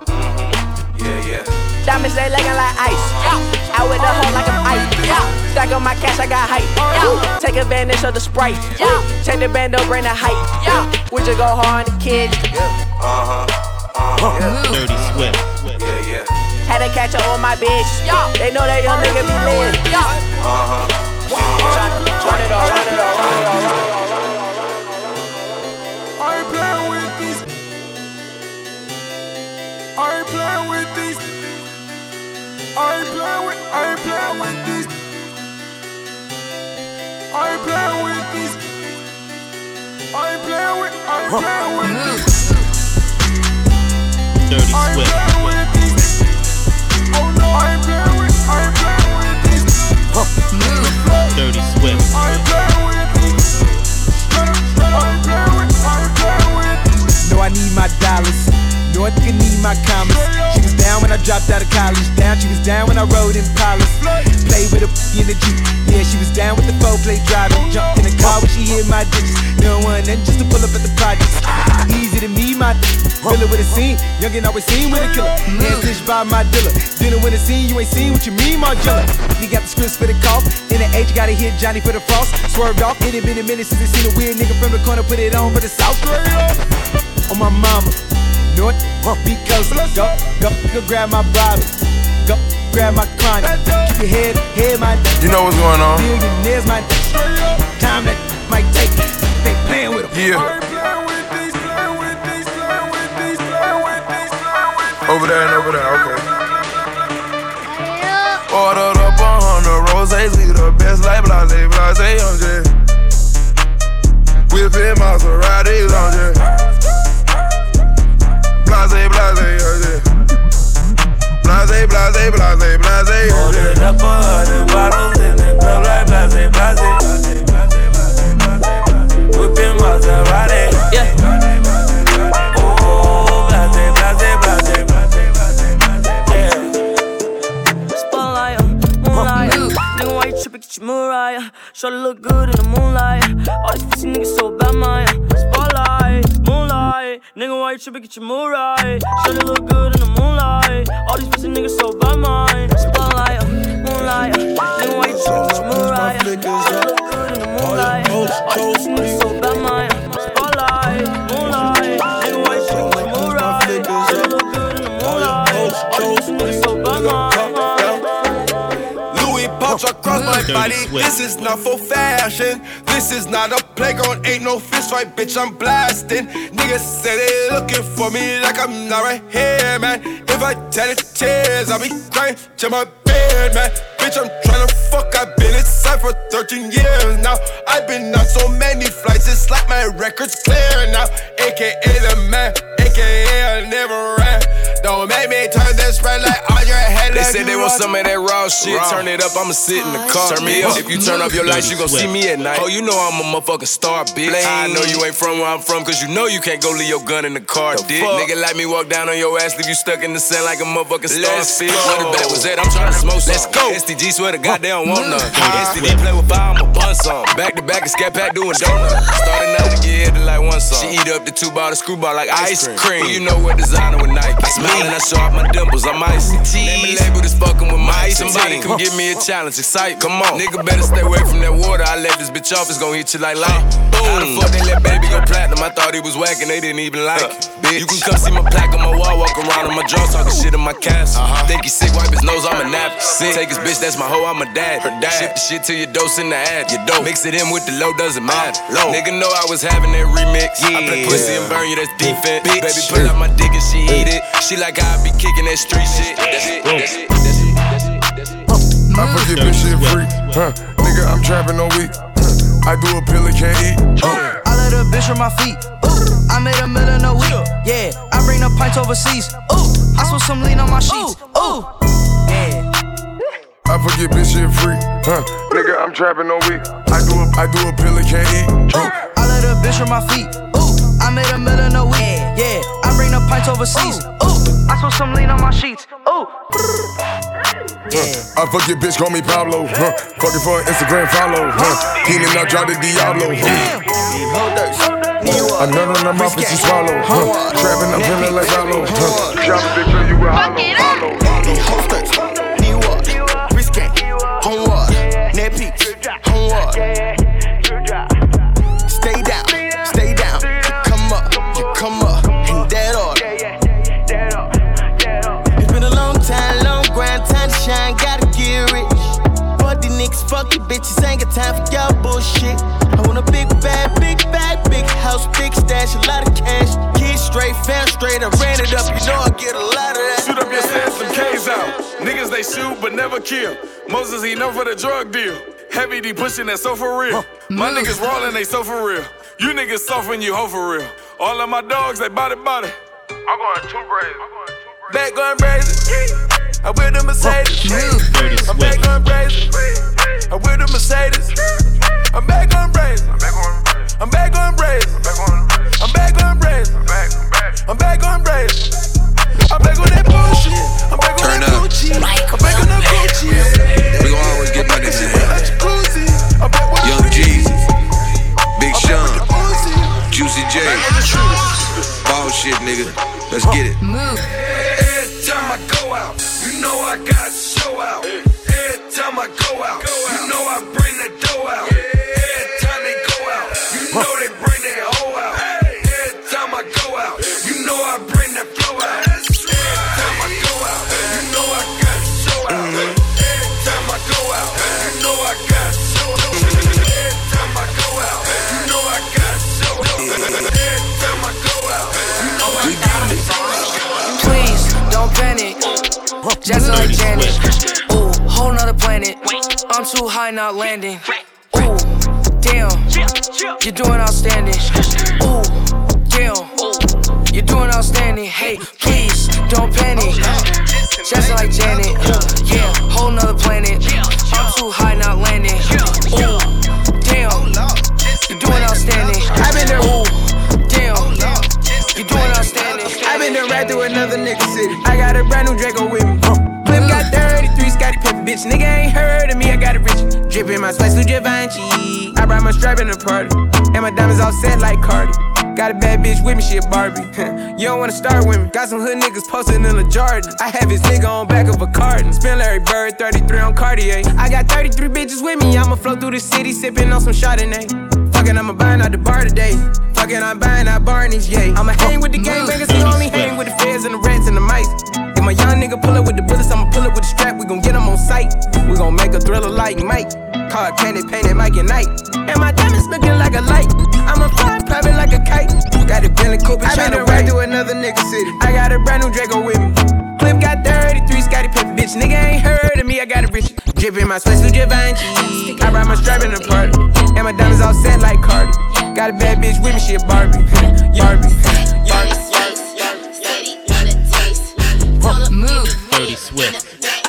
Yeah, yeah. Diamonds, they leggin' like ice. Out with the hoe like I'm ice. Stack on my cash, I got hype. Take advantage of the Sprite. Take the bando, bring the hype. We just go hard on the kids. Uh huh. Uh-huh. Dirty Swift. Yeah, yeah. Had to catch up on my bitch. They know that young nigga be lit. Uh-huh. Run it all, run it all, run it all, run it all. I ain't playing with these. I ain't playing with these. I ain't playing with, I ain't playing with these. I ain't playing with these. I ain't playing with, I ain't playing with these. Dirty Swift. Oh no, I ain't playing with, I ain't playing with these. Dirty Swift. I ain't playing with these. I ain't playing with, I ain't playing with these. No, I need my dollars. No, I think I need my commas. She was down when I dropped out of college. Down, she was down when I rode in Impalas. Played with a in the Jeep. Yeah, she was down with the four late driving. Jumped in the car when she hit my digits. No one then just to pull up at the projects. Easy to me, my filler with a scene. Youngin' always seen with a killer. Hands stitched by my dealer. Dinner with a scene, you ain't seen what you mean, Margilla. He got the scripts for the cough. In the age, gotta hit Johnny for the frost. Swerved off, it ain't been a minute since I seen a weird nigga from the corner. Put it on for the South. On my mama, North, because go, go, go grab my bottle. Go, grab my chronic. Keep your head, head my. You know what's going on. Billionaires, my. Time that might take. They playing with them. Yeah. Over there and over there, okay. Ordered up a hundred roses, we the best like blase, blase, I'm just whipping Maseratis, I'm just blase, blase, I'm just blase, blase, blase, blase. Ordered up a hundred bottles in the club like blase, blase, whipping Maserati, yeah. Get your Mariah, shorty look good in the moonlight. All these pussy niggas so bad, Maya. Spotlight, moonlight, nigga, why you trippin'? Get your Mariah, shorty look good in the moonlight. All these pussy niggas so bad, Maya. Spotlight, moonlight, nigga, why you trippin'? Get your Mariah, shorty look good in the moonlight. All these pussy niggas so bad, Maya. Spotlight, moonlight, nigga, why you trippin'? Get your Mariah, shorty look good in the moonlight. All these pussy niggas so bad, Maya. Across my body, this is not for fashion. This is not a playground, ain't no fist fight, bitch, I'm blasting. Niggas say they looking for me like I'm not right here, man. If I tell it tears, I'll be crying to my bed, man. Bitch, I'm tryna fuck, I've been inside for thirteen years now. I've been on so many flights, it's like my record's clear now. A K A the man, A K A I never ran. Don't make me turn this red light on your head. They said they want some of that raw shit. Raw. Turn it up, I'ma sit in the car. Turn me up. If you turn up your lights, you gon' see me at night. Oh, you know I'm a motherfucking star, bitch. I know you ain't from where I'm from, cause you know you can't go leave your gun in the car, the dick. Fuck? Nigga like me walk down on your ass, leave you stuck in the sand like a motherfucking starfish. Where the bat was at, I'm tryna smoke some. Let's go. S T G swear to God they don't want none. S T D play with fire, I'ma bun some. Back to back and scat pack doing donuts. Starting out to get hit to like one song. She eat up the two bottle screwball like ice cream. You know what designer with Nike. I smile and I show off my dimples, I'm icy. Name me label this fucking with my ice. Somebody come give me a challenge, excite. Come on, nigga better stay away from that water. I let this bitch off, it's gon' hit you like light. Boom. How the fuck they let baby go platinum? I thought he was whacking, they didn't even like it. Bitch, you can come see my plaque on my wall, walk around on my jaw, talking shit in my castle. Uh-huh. Think he sick, wipe his nose, I'm a nap. Sick. Take his bitch, that's my hoe, I'm a dad. Her dad. Ship the shit to your dose in the ad. Your dope. Mix it in with the low, doesn't matter. Low. Nigga know I was having that remix. Yeah. I play pussy and burn you, that's defense. Bitch. Baby pull out my dick and she eat it. She like how I be kicking that street shit. That's it, that's it, that's it, that's it, that's it. I forget this shit free, huh? Nigga, I'm trapping all week. Huh? I do a pill and can't eat. Uh. I let a bitch on my feet. Ooh. I made a million a week. Yeah, I bring the pints overseas. Ooh, I switch some lean on my sheets. Ooh, yeah. I forget this shit free, huh? Nigga, I'm trapping all week. I do a, I do a pill and can't eat. Ooh. I let a bitch on my feet. Ooh, I made a million a week. Yeah, I bring the pints overseas. Ooh, I switch some lean on my sheets. Ooh. Yeah. I fuck your bitch, call me Pablo. Huh? Fucking for an Instagram follow. Huh? Keenan, I drop the Diablo. I nut on her mouth and she swallow. Huh? Trapping, I'm feeling like Hollow. Huh? Drop a bitch till you a hollow. These hosters need what? Risque, on what? Net peaks, on what? Stay down, stay down. You come up, you come up. In that order. It's been a long time, long grind, time to shine, gotta get rich. Fuck these niggas, fuck these bitches, ain't got time for y'all bullshit. I want a big bag, big bag, big house, big stash, a lot of cash. Kids straight, fam straight, I ran it up, you know I get a lot of that. Shoot up your sets, some K's out. Niggas they shoot but never kill. Moses he known for the drug deal. Heavy D pushing that so for real. My niggas rollin', they so for real. You niggas soft you hoe for real. All of my dogs, they body body. I'm going too crazy. Back going crazy. I with the Mercedes. I'm back going crazy. I with the Mercedes. I'm back going crazy. I'm back going crazy. I'm back going crazy. I'm back going crazy. I'm back on that bullshit. I'm back on that Gucci. I'm back on that Gucci. We gon' always get back this shit. Young shit, nigga. Let's get it. Move. Every time I go out, you know I got to show out. Every time I go out, you know I bring the dough out. Every time they go out, you know they bring their hoe out. Every time I go out, you know I bring the flow out. Every time I go out, you know I got to show out. Every time I go out, you know I got to show out. Every time I go out, you know I got to show out. Every time I go out, you know I got to show out. Please don't panic, just like Janet. Ooh, whole nother planet. I'm too high, not landing. Ooh, damn, you're doing outstanding. Ooh, damn, you're doing outstanding. Hey, please don't panic, just like Janet. Yeah, whole nother planet. I'm too high, not landing. Ooh, damn, you're doing outstanding. I've been there. Ooh, damn, you're doing outstanding. I've been there right through another nigga city. I got a brand new Draco with me. Clip got thirty-three, Scotty Pippen, bitch. Nigga ain't heard of me, I got it rich. Drippin' my spice through Givenchy. I brought my stripe in the party, and my diamonds all set like Cardi. Got a bad bitch with me, she a Barbie. You don't wanna start with me. Got some hood niggas posted in a Jordan. I have his nigga on back of a carton. Spin Larry Bird, thirty-three on Cartier. I got thirty-three bitches with me. I'ma flow through the city, sippin' on some Chardonnay. Fuckin', I'ma buying out the bar today. Fuckin', I'm buying out Barney's, yay. I'ma hang with the gangbangers, you only hang with the feds and the rats and the mice. If my young nigga pull up with the bullets, I'ma pull up with the strap. We gon' get him on sight. We gon' make a thriller like Mike. Car candy painted Mike at night. And my diamonds looking like a light. I'ma fly private like a kite. Got a Bentley coupe and tryna ride through another nigga city. I got a brand new Draco with me. Clip got thirty-three, Scotty Pippen, bitch. Nigga ain't heard of me, I got it rich. Drippin' my space through Givenchy. I ride my stripe in the party, and my diamonds all set like Cardi. Got a bad bitch with me, she a Barbie. Barbie. Move. Dirty Swift.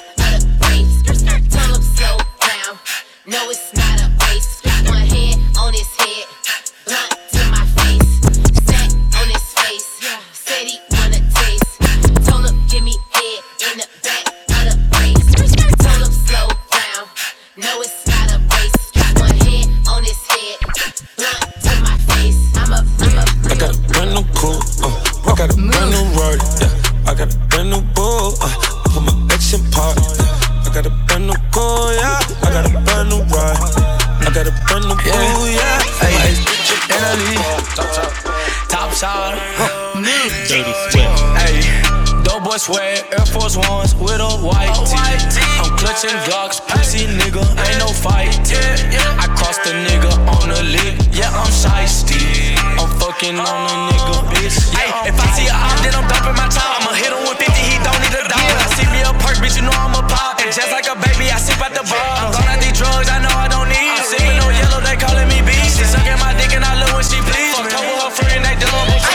No, it's not a race. One hand on his head, blunt to my face, sat on his face. Said he wanna taste. Told him give me head in the back of the race. Told him slow down. No, it's not a race. One hand on his head, blunt to my face. I'm a, I'm a. I got a brand new coupe, uh, I got a brand new Rari, yeah. I got a brand new bull, uh, I put my action part. I got a brand new car, yeah. I got a brand new ride. I got a brand new boo, yeah. Hey, Italy, top shot, Dirty Swift. Hey, dope boy sweat, Air Force Ones with a white tee. I'm clutching Glocks, pussy nigga, ain't no fight. I crossed the nigga on the lick, yeah, I'm shiesty. I'm fucking on a nigga, bitch. Hey, if I see a op, then I'm dumping my top. I'ma hit him with fifty, he don't need a dollar. I see me a perk, bitch, you know I'm a pop. And just like a baby, I sip out the bar. I'm gone out these drugs, I know I don't need. I'm sipping no yellow, they calling me B. She sucking my dick and I love when she please. Fuck over her friend, they done me.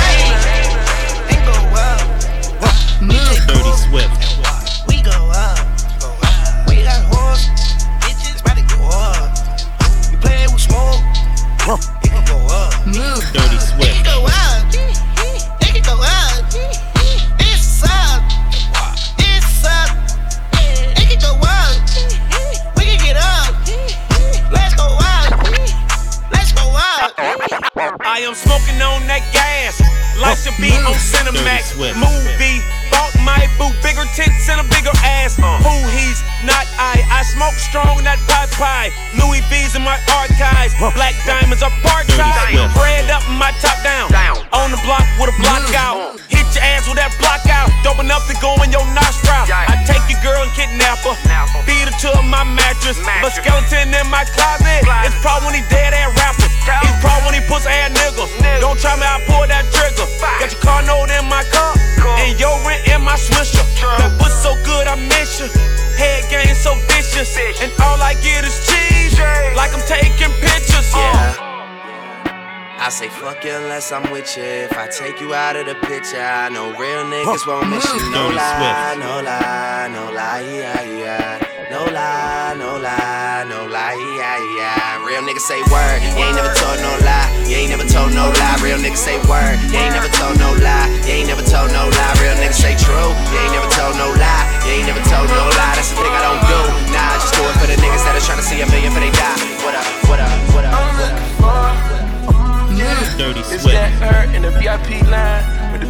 Dirty Swift. We go up. We got horse, bitches about to go up. We play with smoke, it can go up. Move. Dirty Swift. It can go up. It can go up. It's up. It's up. It can go up. We can get up. Let's go up. Let's go up. I am smoking on that gas. Lights should be on Cinemax. Movie. Bought my boo. Bigger tits and a bigger ass. Who he's not I. I smoke strong, not pot pie. Louis V's in my archives. Black diamonds are part time. Bread up and my top down. On the block with a block out. Hit your ass with that block out. Dope enough to go in your nostril. I take your girl and kidnap her. Beat her to my mattress. But skeleton in my closet. It's probably when he dead ass rapper. It's probably when he pussy ass nigga. Don't try me, I pull that trigger. Got your car note in my car. And your rent in my swisher. That pussy so good I miss you. Head game so vicious. And all I get is cheese. Like I'm taking pictures. Yeah. I say fuck you unless I'm with you. If I take you out of the picture, I know real niggas won't miss you. No lie, no lie, no lie, yeah, yeah. No lie, no lie, no lie, yeah, yeah. Real niggas say word, you ain't never told no lie. You ain't never told no lie. Real niggas say word, you ain't never told no lie. You ain't never told no lie. Real niggas say true, you ain't never told no lie. You ain't never told no lie. That's the thing I don't do. Nah, I just do it for the niggas that are trying to see a million for they die. What up, what up, what up, what up? Dirty Swift. It's that her in the V I P line with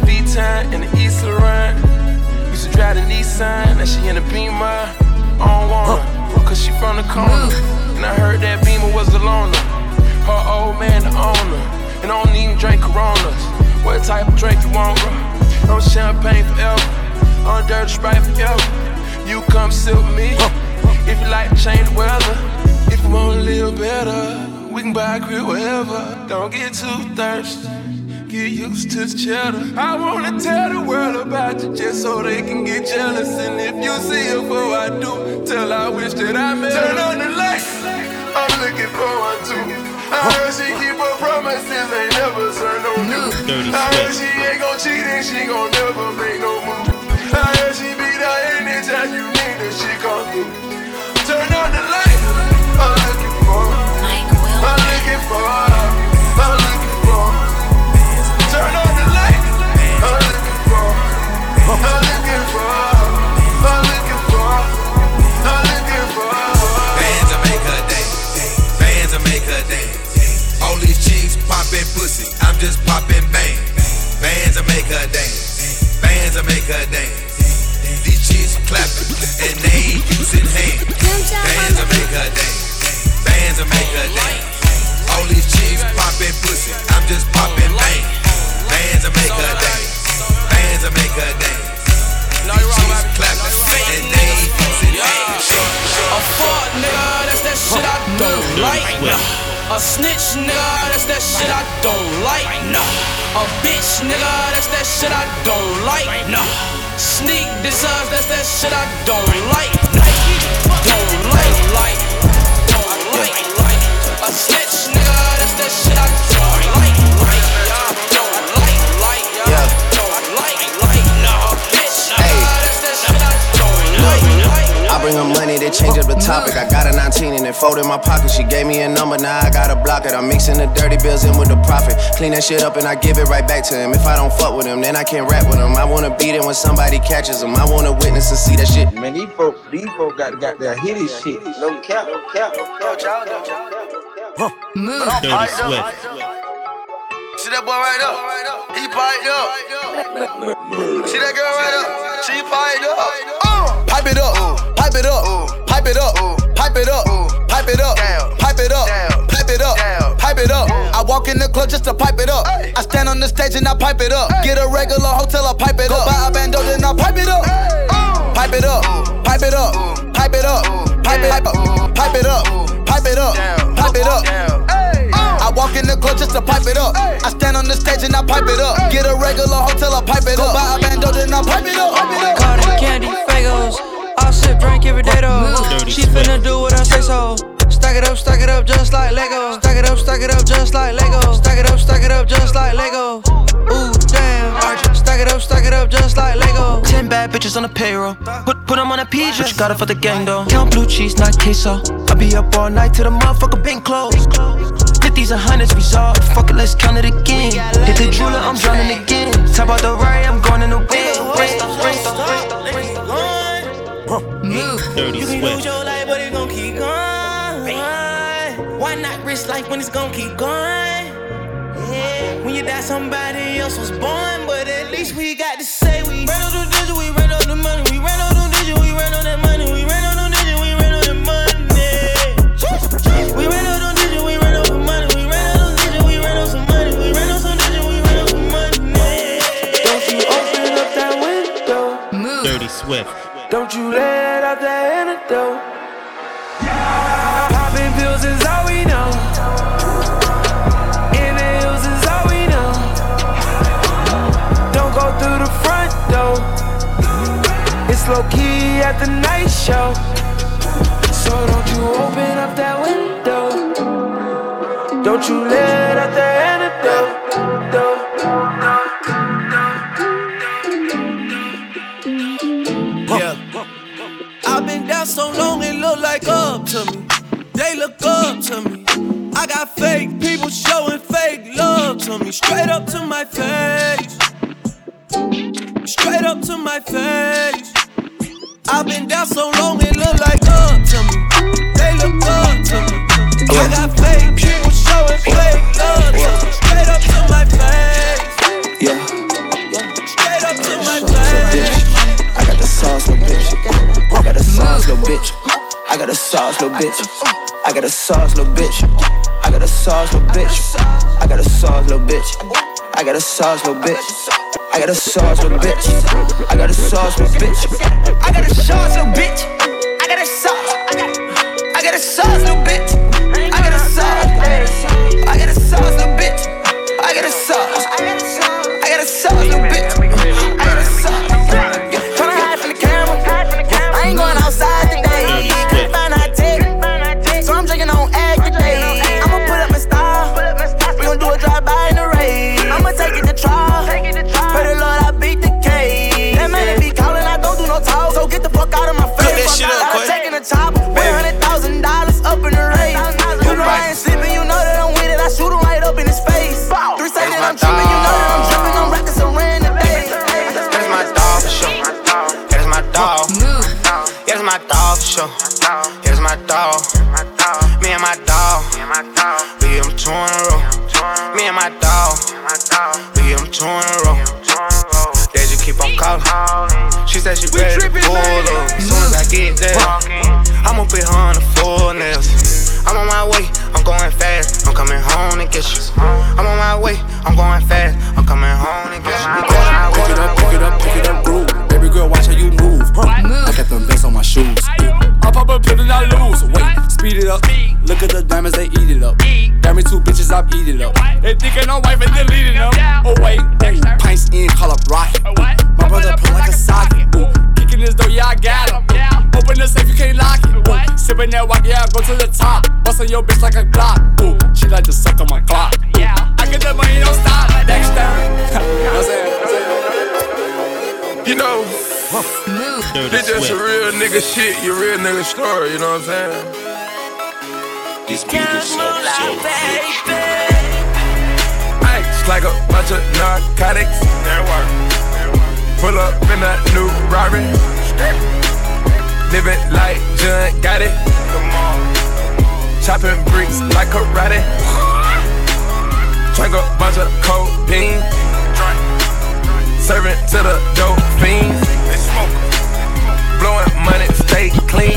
Now she in the Beamer, I don't want her, cause she from the corner. And I heard that Beamer was the loner. Her old man the owner. And I don't even drink Coronas. What type of drink you want, bro? No champagne forever. On dirty Sprite forever. You come sit with me. If you like to change the weather. If you wanna live better, we can buy a crib wherever. Don't get too thirsty. Get used to the cheddar. I wanna tell the world about you just so they can get jealous. And if you see her before I do, tell her I wish that I met her. Turn on the lights, I'm looking for one too. I heard she keep her promises, ain't never turn no new. I heard she ain't gon' cheat and she gon' never make no move. I heard she be there anytime you need her, she come through. Turn on the lights, I'm looking for her. I'm looking for her. I'm looking for her. Turn on the lights. I'm looking for her. I'm looking for her. I'm looking for her. I'm looking for her. Bands will make her dance. Bands will make her dance. All these chicks poppin' pussy. I'm just poppin' bang. Bands will make her dance. Bands will make her dance. These chicks clappin' and they ain't using hands. Bands will make her dance. Bands will make her dance. All these chicks poppin' pussy. I'm just poppin' bang. Bands will make her dance. Bands will make her dance. These chicks clappin' and they ain't using hands. A fuck nigga, that's that shit I don't like. A snitch nigga, that's that shit I don't like. A bitch nigga, that's that shit I don't like. Sneak designs, that's that shit I don't like. Don't like, like, don't like, like. A snitch nigga, that's that shit I don't like, like. Don't like, like, don't like, like. No, bitch nigga, that's that shit I don't like, like. I bring her money, they change up the topic. I got a nineteen and it fold in my pocket. She gave me a number, now I gotta block it. I'm mixing the dirty bills in with the profit. Clean that shit up and I give it right back to him. If I don't fuck with him, then I can't rap with him. I wanna beat it when somebody catches him. I wanna witness and see that shit. Man, these folk, these folk got, got their hitty shit. No cap, no cap, no cap. Move. Dirty Swift. See that boy right up? He piped up. See that girl right up? She piped up. Uh. Pipe it up, pipe it up, pipe it up, pipe it up, pipe it up, pipe it up, pipe it up, pipe it up. I walk in the club just to pipe it up. I stand on the stage and I pipe it up. Get a regular hotel, I pipe it up. Go buy a bando, then I pipe it up. Pipe it up, pipe it up, pipe it up, pipe it up, pipe it up, pipe it up, pipe it up. I walk in the club just to pipe it up. I stand on the stage and I pipe it up. Get a regular hotel, I pipe it up. Go buy a bando, then I pipe it up. Cotton candy, Fagos. I'll sit drink every day though. She finna do what I say so. Stack it up, stack it up just like Lego. Stack it up, stack it up just like Lego. Stack it up, stack it up just like Lego. Ooh, damn. Stack it up, stack it up just like Lego. Ten bad bitches on the payroll. Put put them on a P J. But you got it for the gang though. Count blue cheese, not queso. I be up all night till the motherfucker been closed. Fifties and hundreds resolved. Fuck it, let's count it again. Hit the jeweler, I'm drowning again. Top out the right, I'm going in the wind. Move. Dirty you can Swift. Lose your life, but it's gon' keep going. Why not risk life when it's gon' keep going? Yeah. When you die, somebody else was born, but at least we got to say we ran on the digit, we ran on the money, we ran on the digit, we ran on that money, we ran on the digit, we ran on the money. We ran on the digit, we ran on the money, we ran on the digit, we ran on some money, we ran on some digit, we ran on some money. Don't you open up that window. Move. Dirty Swift. Don't you let out that antidote. Popping pills is all we know. In the hills is all we know. Don't go through the front door. It's low key at the night show. So don't you open up that window. Don't you let out that antidote. Yeah. I've been down so long it look like up to me. They look up to me. I got fake people showing fake love to me. Straight up to my face. Straight up to my face. I've been down so long it look like up to me. They look up to me. I got fake people showing fake love to me. Straight up to my face. Yeah. Straight up to my face. I got the sauce, my bitch. little bitch. I got a sauce, little bitch. I got a sauce, little bitch. I got a sauce, little bitch. I got a sauce, little bitch. I got a sauce, little bitch. I got a sauce, little bitch. I got a sauce, little bitch. I got a sauce. I got a sauce, little bitch. I got a sauce. I got a sauce, little bitch. I got a sauce. I got a sauce, little bitch. I got a sauce. Tryna hide from the camera. I ain't going outside today. Can't find how to take it. So I'm drinking on egg today. I'ma put up my style. We gon' do a drive-by in the rain. I'ma take it to trial. Pray the Lord I beat the case. That man be calling, I don't do no talk. So get the fuck out of my face. I'm taking a top. one hundred thousand dollars up in the race. You know I ain't sleeping, you know that I'm with it. I shoot him right up in his face. Three seconds I'm tripping, you know that I'm dripping. I'm rocking some rain today. That's my dog for sure. That's my dog. Yeah, that's my dog for sure. Yeah, that's my dog. Me and my dog. We get them two in a row. Me and my dog. We get them two in a row. They just keep on calling. She said she ready to pull up. As soon as I get there, I'ma put her on the full nails. I'm on my way, I'm going fast. I'm coming home to get you. I'm on my way, I'm going fast. I'm coming home to get you. Pick it up, pick it up, pick it up, groove. Baby girl, watch how you move. Huh. I got them veins on my shoes. I pop a pill and I lose. Wait, speed it up. Look at the diamonds, they eat it up. Got me two bitches, I eat it up. They thinking I'm wife and deleting them. Oh wait, ooh, pints in, call up rocket. My brother pull like a socket. Ooh, kicking this door, yeah I got him. Open the safe, you can't lock it. Ooh, sipping that walk, yeah I go to the top. Bustin' your bitch like a Glock. Ooh, she like to suck on my clock. Yeah, I get that money, don't stop. Next time. You know what I'm saying? You know, this just a real nigga shit, your real nigga story, you know what I'm saying? This beat is so so baby. Ice like a bunch of narcotics. Pull up in that new Rari. Living like John got it. Chopping bricks like karate. Drink a bunch of codeine. Serving to the dope fiends. Blowing money, stay clean.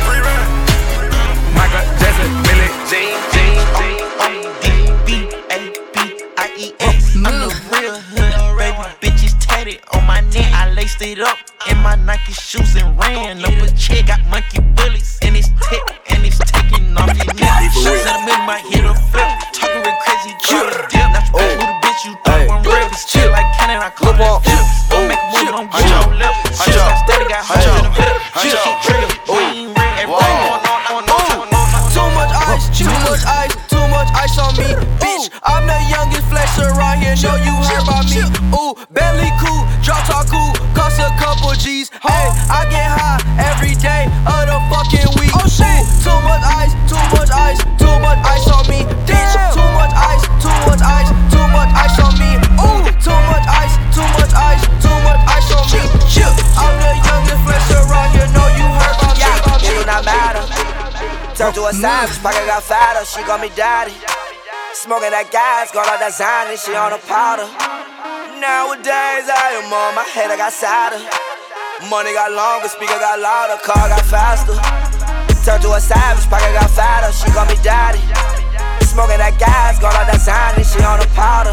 Michael Jackson, Billie Jean, Jean, Jean. D B A B I E S. I'm the real hood, baby. Bitches tatted on my neck. I laced it up in my Nike shoes and ran up a check. Got monkey bullets in his tech and it's taking off your neck. Shoes in the middle, might hit a flip. Talking real crazy, drop a dip. Not you who the bitch you thought I'm real. It's chill like Cannon, I call that flip. Don't make a move, don't get your lip. Shit, I steady got hoes in the middle. Shit, she trigger. Green, red, everything going on, on, on, on. Too much ice, too much ice, too much ice on me. Bitch, I'm the youngest flexer around here. Know you heard about me. Ooh, Bentley cool, drop top cool, cost a couple G's. Hey, I get high every day of the fucking week. Oh shit, too much ice, too much ice, too much ice on me. Bitch, too much ice, too much ice, too much ice on me. Ooh, too much ice, too much ice, too much ice on me. I'm the youngest flexer around here. Know you heard about me. Yeah, it do not matter. Turn to a savage, pocket got fatter, she call me daddy. Smoking that gas, got all that Zany, she on a powder. Nowadays I am on my head, I got sadder. Money got longer, speaker got louder, car got faster. Turn to a savage, pocket got fatter, she call me daddy. Smoking that gas, got all that Zany, she on a powder.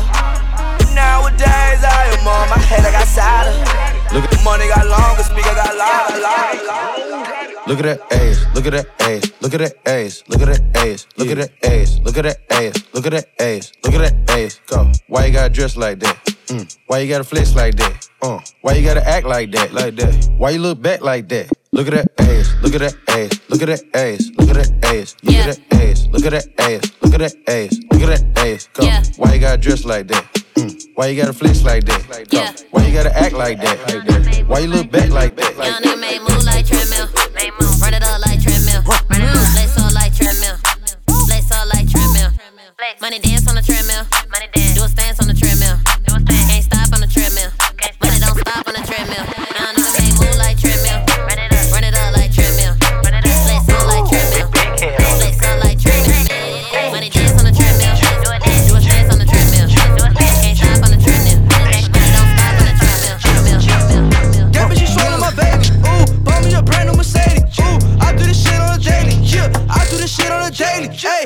Nowadays I am on my head, I got sadder. Look at money got longer, speaker got louder, louder, louder. Look at that ass, look at that ass, look at that ass, look at that ass, look at that ass, look at that ass, look at that ass, look at that ass. Go. Why you gotta dress like that? Mm. Why you gotta flex like that? Uh. Why you gotta act like that? Like that? Why you look back like that? Look at that ass, look at that ass, look at that ass, look at that ass, look at that ass, look at that ass, look at that ass, look at that ass. Go. Why you gotta dress like that? Mm. Why you gotta flex like that? Go. Why you gotta act like that? Like that? Why you look back like that? Like Young nigga made move like treadmill. Run it up like treadmill. Run it up, flex up like treadmill. Flex up like treadmill. Money dance on the treadmill. Money dance. Do a stance on the treadmill. Do a stance. Can't stop on the treadmill. Money don't stop on the treadmill. Young nigga made move like treadmill. Run it up, run it up like treadmill. Run it up, flex up like treadmill. Flex up like treadmill. Money dance on the treadmill. Do a dance. Do a stance on the treadmill. Can't stop on the treadmill. Money don't stop on the treadmill. Treadmill. Yeah, but she showing my baby. Ooh, bought me a brand new Mercedes. Ooh, I do this shit on a daily. Yeah,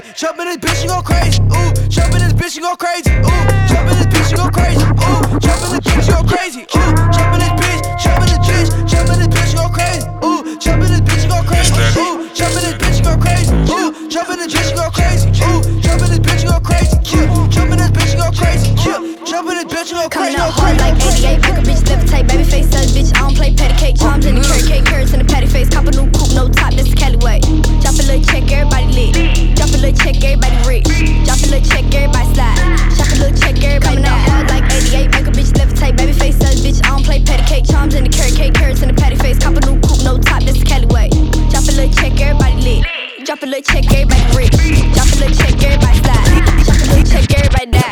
Jump in this bitch, you go crazy. Ooh, jump in this bitch, you go crazy. Ooh, jump in this bitch, you go crazy. Ooh, jump in this bitch, you go crazy. Ooh, jump in this bitch, jump in this bitch, jump in this bitch, you go crazy. Ooh, jump in this bitch, you go crazy. Ooh, jump in this bitch, you go crazy. Ooh, jump in this bitch, you go crazy. Ooh, jump in this bitch, you go crazy. Jump in this bitch, you go crazy. Jump in this bitch, you go crazy. Coming out hard like eighty-eight, make a bitch levitate. Baby face says, bitch, I don't play patty cake. Charms in the carrot cake, carrots in the patty face. Cop a new coupe, no top, this is Cali way. Drop a little check, everybody lit. Drop a little check, everybody rich. Drop a little check, everybody slide. Shop a little check, everybody out hard like eighty-eight, make a bitch levitate. Baby face says, bitch, I don't play patty cake. Charms in the carrot cake, carrots in the patty face. Cop a new coupe, no top, this is Cali way. Drop a little check, everybody lit. Drop a little check, everybody rich. Drop a little check, everybody slide. Shop a little check, everybody die.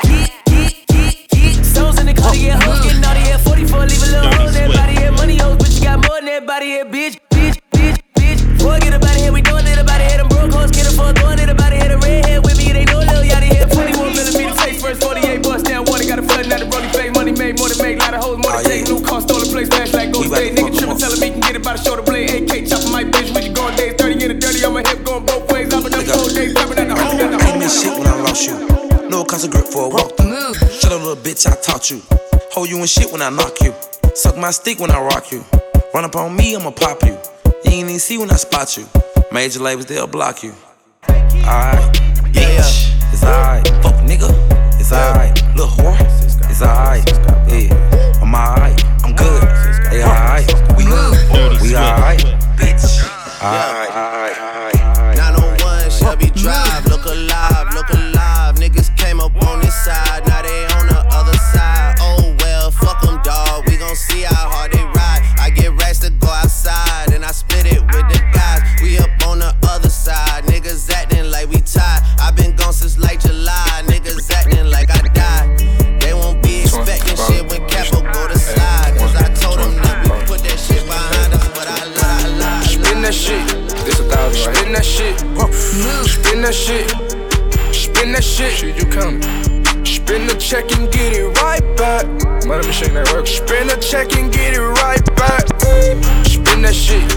Stones in the car to get hoes, getting out of here. forty-four, leave a little hole in that body here. Money hoes, but you got more than that body here, bitch, bitch, bitch, bitch. Boy, get up out of here, we doing it about it here. Them broke hoes, get up for doing it about it here. The redhead with me, they know little yachty here. twenty-one millimeter face first, forty-eight bust down water. Got a flooding out the rolling face. Money made, more than make, lot of hoes, more than take. New car, stolen place, flash like gold state. Nigga trippin', tellin' me can get it by the shoulder blade. A K chopping my bitch when you going days. thirty in the dirty on my hip, going both ways. I'm in them cold days, dropping at the home. Ain't been shit when I lost you. No cost of grip for a walk through. Shut up, little bitch, I taught you. Hold you in shit when I knock you. Suck my stick when I rock you. Run up on me, I'ma pop you. You ain't even see when I spot you. Major labels, they'll block you. Alright, yeah, it's alright. Fuck nigga, it's alright. Little whore, it's alright. Yeah, I'm alright, I'm good. They alright, we good, we alright. Bitch, alright, alright, alright. nine oh one Shelby Drive, look alive, look alive. Niggas came up on this side, now they on the other side. Oh well, fuck them, dawg. We gon' see how hard they ride. I get racks to go outside, and I split it with the guys. We up on the other side, niggas acting like we tied. I been gone since like July, niggas acting like I died. They won't be expecting shit when Capo go to slide. Cause I told them that we put that shit behind us, but I lied, I lied. Spin that shit, this a thousand. Spin that shit, spin that shit, spin that shit. Shit, you coming? Spin the check and get it right back. Money machine that work. Spin the check and get it right back. Spin that shit,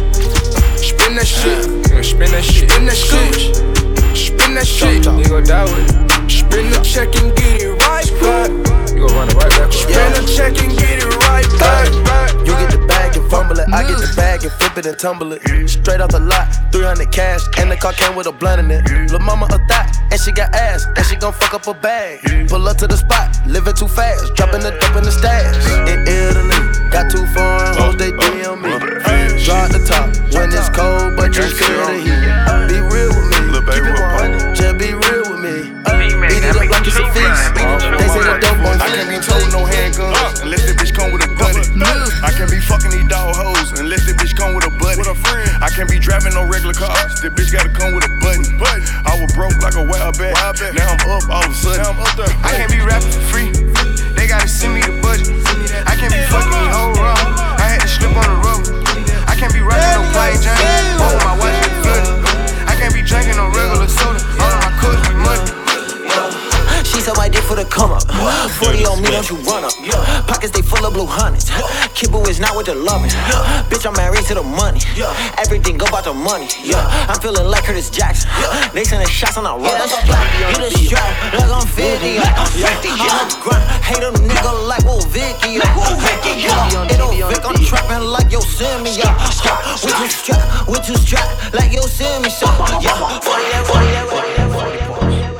spin that shit, spin that shit, spin that shit, spin that shit. You gon' die with it. Spin the check and get it right back. You gon' run it right back. Spin the check and get it right back. You get the bag and fumble it. I get the bag and flip it and tumble it. Straight off the lot, three hundred cash, and the car came with a blunt in it. Lil' mama a thot, and she got ass, and she gon' fuck up a bag. Pull up to the spot, living too fast, dropping the dope in the stash. In Italy, got two foreign hoes, they D M me. Drop the top when it's cold, but you feel the heat. Be real with me, keep it one hundred, just be real with me. Beat it up like it's a feast. They say the dope boys. I can't be told no handguns unless the bitch come with a buddy. I can't be fucking these dog hoes unless the bitch come with a buddy. I can't be driving no regular cars. The bitch gotta come with a button. I was broke like a wild bat. Now I'm up all of a sudden. I can't be rapping for free. They gotta send me the budget. I can't be fucking these whole wrong. I had to slip on the rubber. I can't be rocking no plain Jane. Oh, my watch get flooded. I can't be drinking no regular soda. All of my cups with money. She said my dick for the come up. forty on me, don't you run up. Pockets they full of blue hundreds. Kibble is not with the loving. Bitch, I'm married to the money. Everything go about the money. I'm feeling like Curtis Jackson. They sending shots on the run. You the strap, like I'm fifty. I'm the grind. Hate a nigga like Will Vicky. It'll Vic, I'm trapping like Yosemite. We too strapped, we too strapped like Yosemite. forty-eight, forty-eight, forty-eight, forty-eight.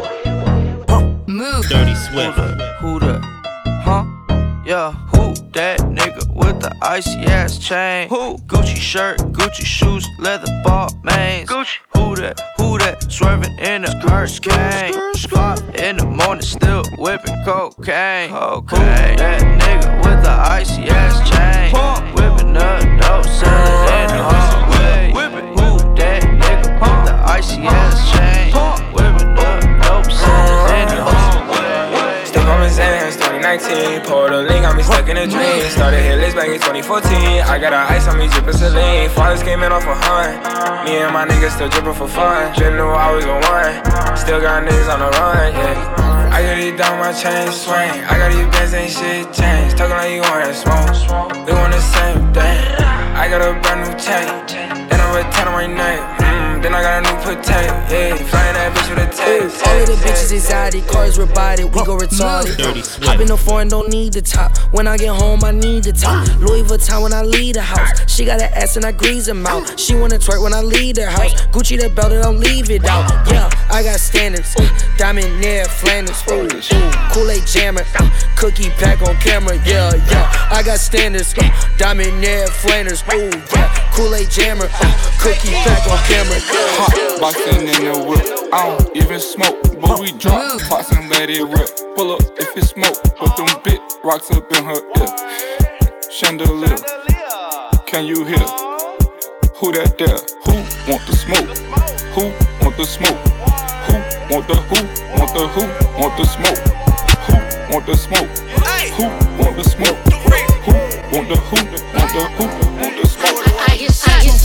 Move. Dirty Swift. Who that? Huh? Yeah, who that nigga with the icy ass chain? Who? Gucci shirt, Gucci shoes, leather ball mains. Gucci. Who that? Who that? Swerving in the hurricane. Five in the morning, still whipping cocaine. Cocaine. Who that nigga with the icy ass chain? Whipping up dope, selling in the hallway. Who that nigga with the icy ass chain? Whipping up dope, selling in the hallway. On my Xans, twenty nineteen, poured a link, got me stuck in a dream. Started hit list back in twenty fourteen. I got a ice on me, drippin' saline. Fathers came in off a hunt. Me and my niggas still drippin' for fun. Didn't know I was a one. Still got niggas on the run, yeah. I got these down my chain swing. I got these bands, ain't shit changed. Talking like you wanna smoke. We want the same thing. I got a brand new chain. Then I return my name. Mm, then I got a new potato, yeah. Flying that bitch you the text. All of the bitches anxiety, cars rebodied, we go retarded. Hop in the foreign, don't need the top. When I get home, I need the top. Louis Vuitton when I leave the house. She got an ass and I grease her mouth. She wanna twerk when I leave the house. Gucci the belt and don't leave it out. Yeah, I got standards. Diamond near Flanders. Ooh, ooh. Kool-Aid jammer. Cookie pack on camera. Yeah, yeah. I got standards. Diamond near Flanders. Ooh, yeah. Kool-Aid jammer. Cookie pack on camera. Hot boxing in the whip. I don't even smoke, but we drop box and let it rip. Pull up if it smoke, put them big rocks up in her ear. Chandelier, can you hear? Who that there? Who want the smoke? Who want the smoke? Who want the who? Want the who? Want the smoke? Who want the smoke? Who want the smoke? Who want the who? Want the who? Want the smoke? I get shot, get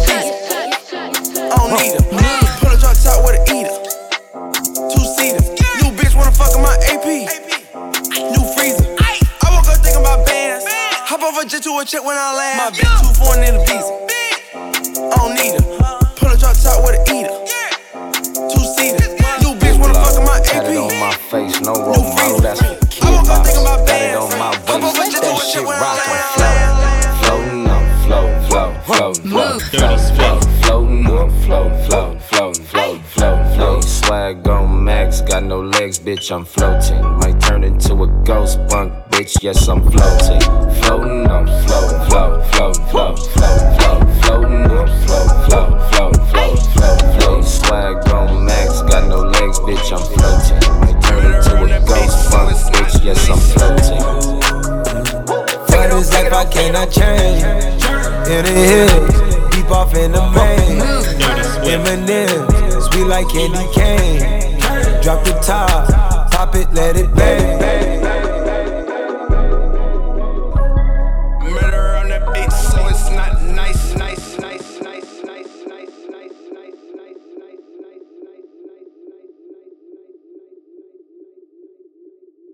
shot. I don't need her. Put a drop top with an eater. Two seater. New bitch wanna fuck in my A P. New freezer. I woke up thinking about bands. Hop over jet to a check when I land. My bitch too foreign in the visa. I don't need her. Put a drop top with an eater. Two seater. New bitch wanna fuck in my A P. Tat it on my face, no role model, that's for the kid box. Tat it on my waist, that shit rockin', floatin', floatin' on, float, float, float, float, float, floatin' on, float, float, float, float, float, float. Swag on max, got no legs, bitch, I'm floating. Might turn into a ghost bunk, bitch, yes, I'm floating. Floatin' on, float, float, float, float, float, float, floatin' on, float, float, float, float, float, float. Swag on max, got no legs, bitch, I'm floating. Might turn into a ghost bunk, bitch, yes, I'm floating. For this life I cannot change. In the hills, deep off in the main. Eminem, sweet like candy cane. Drop the top, pop it, let it bang.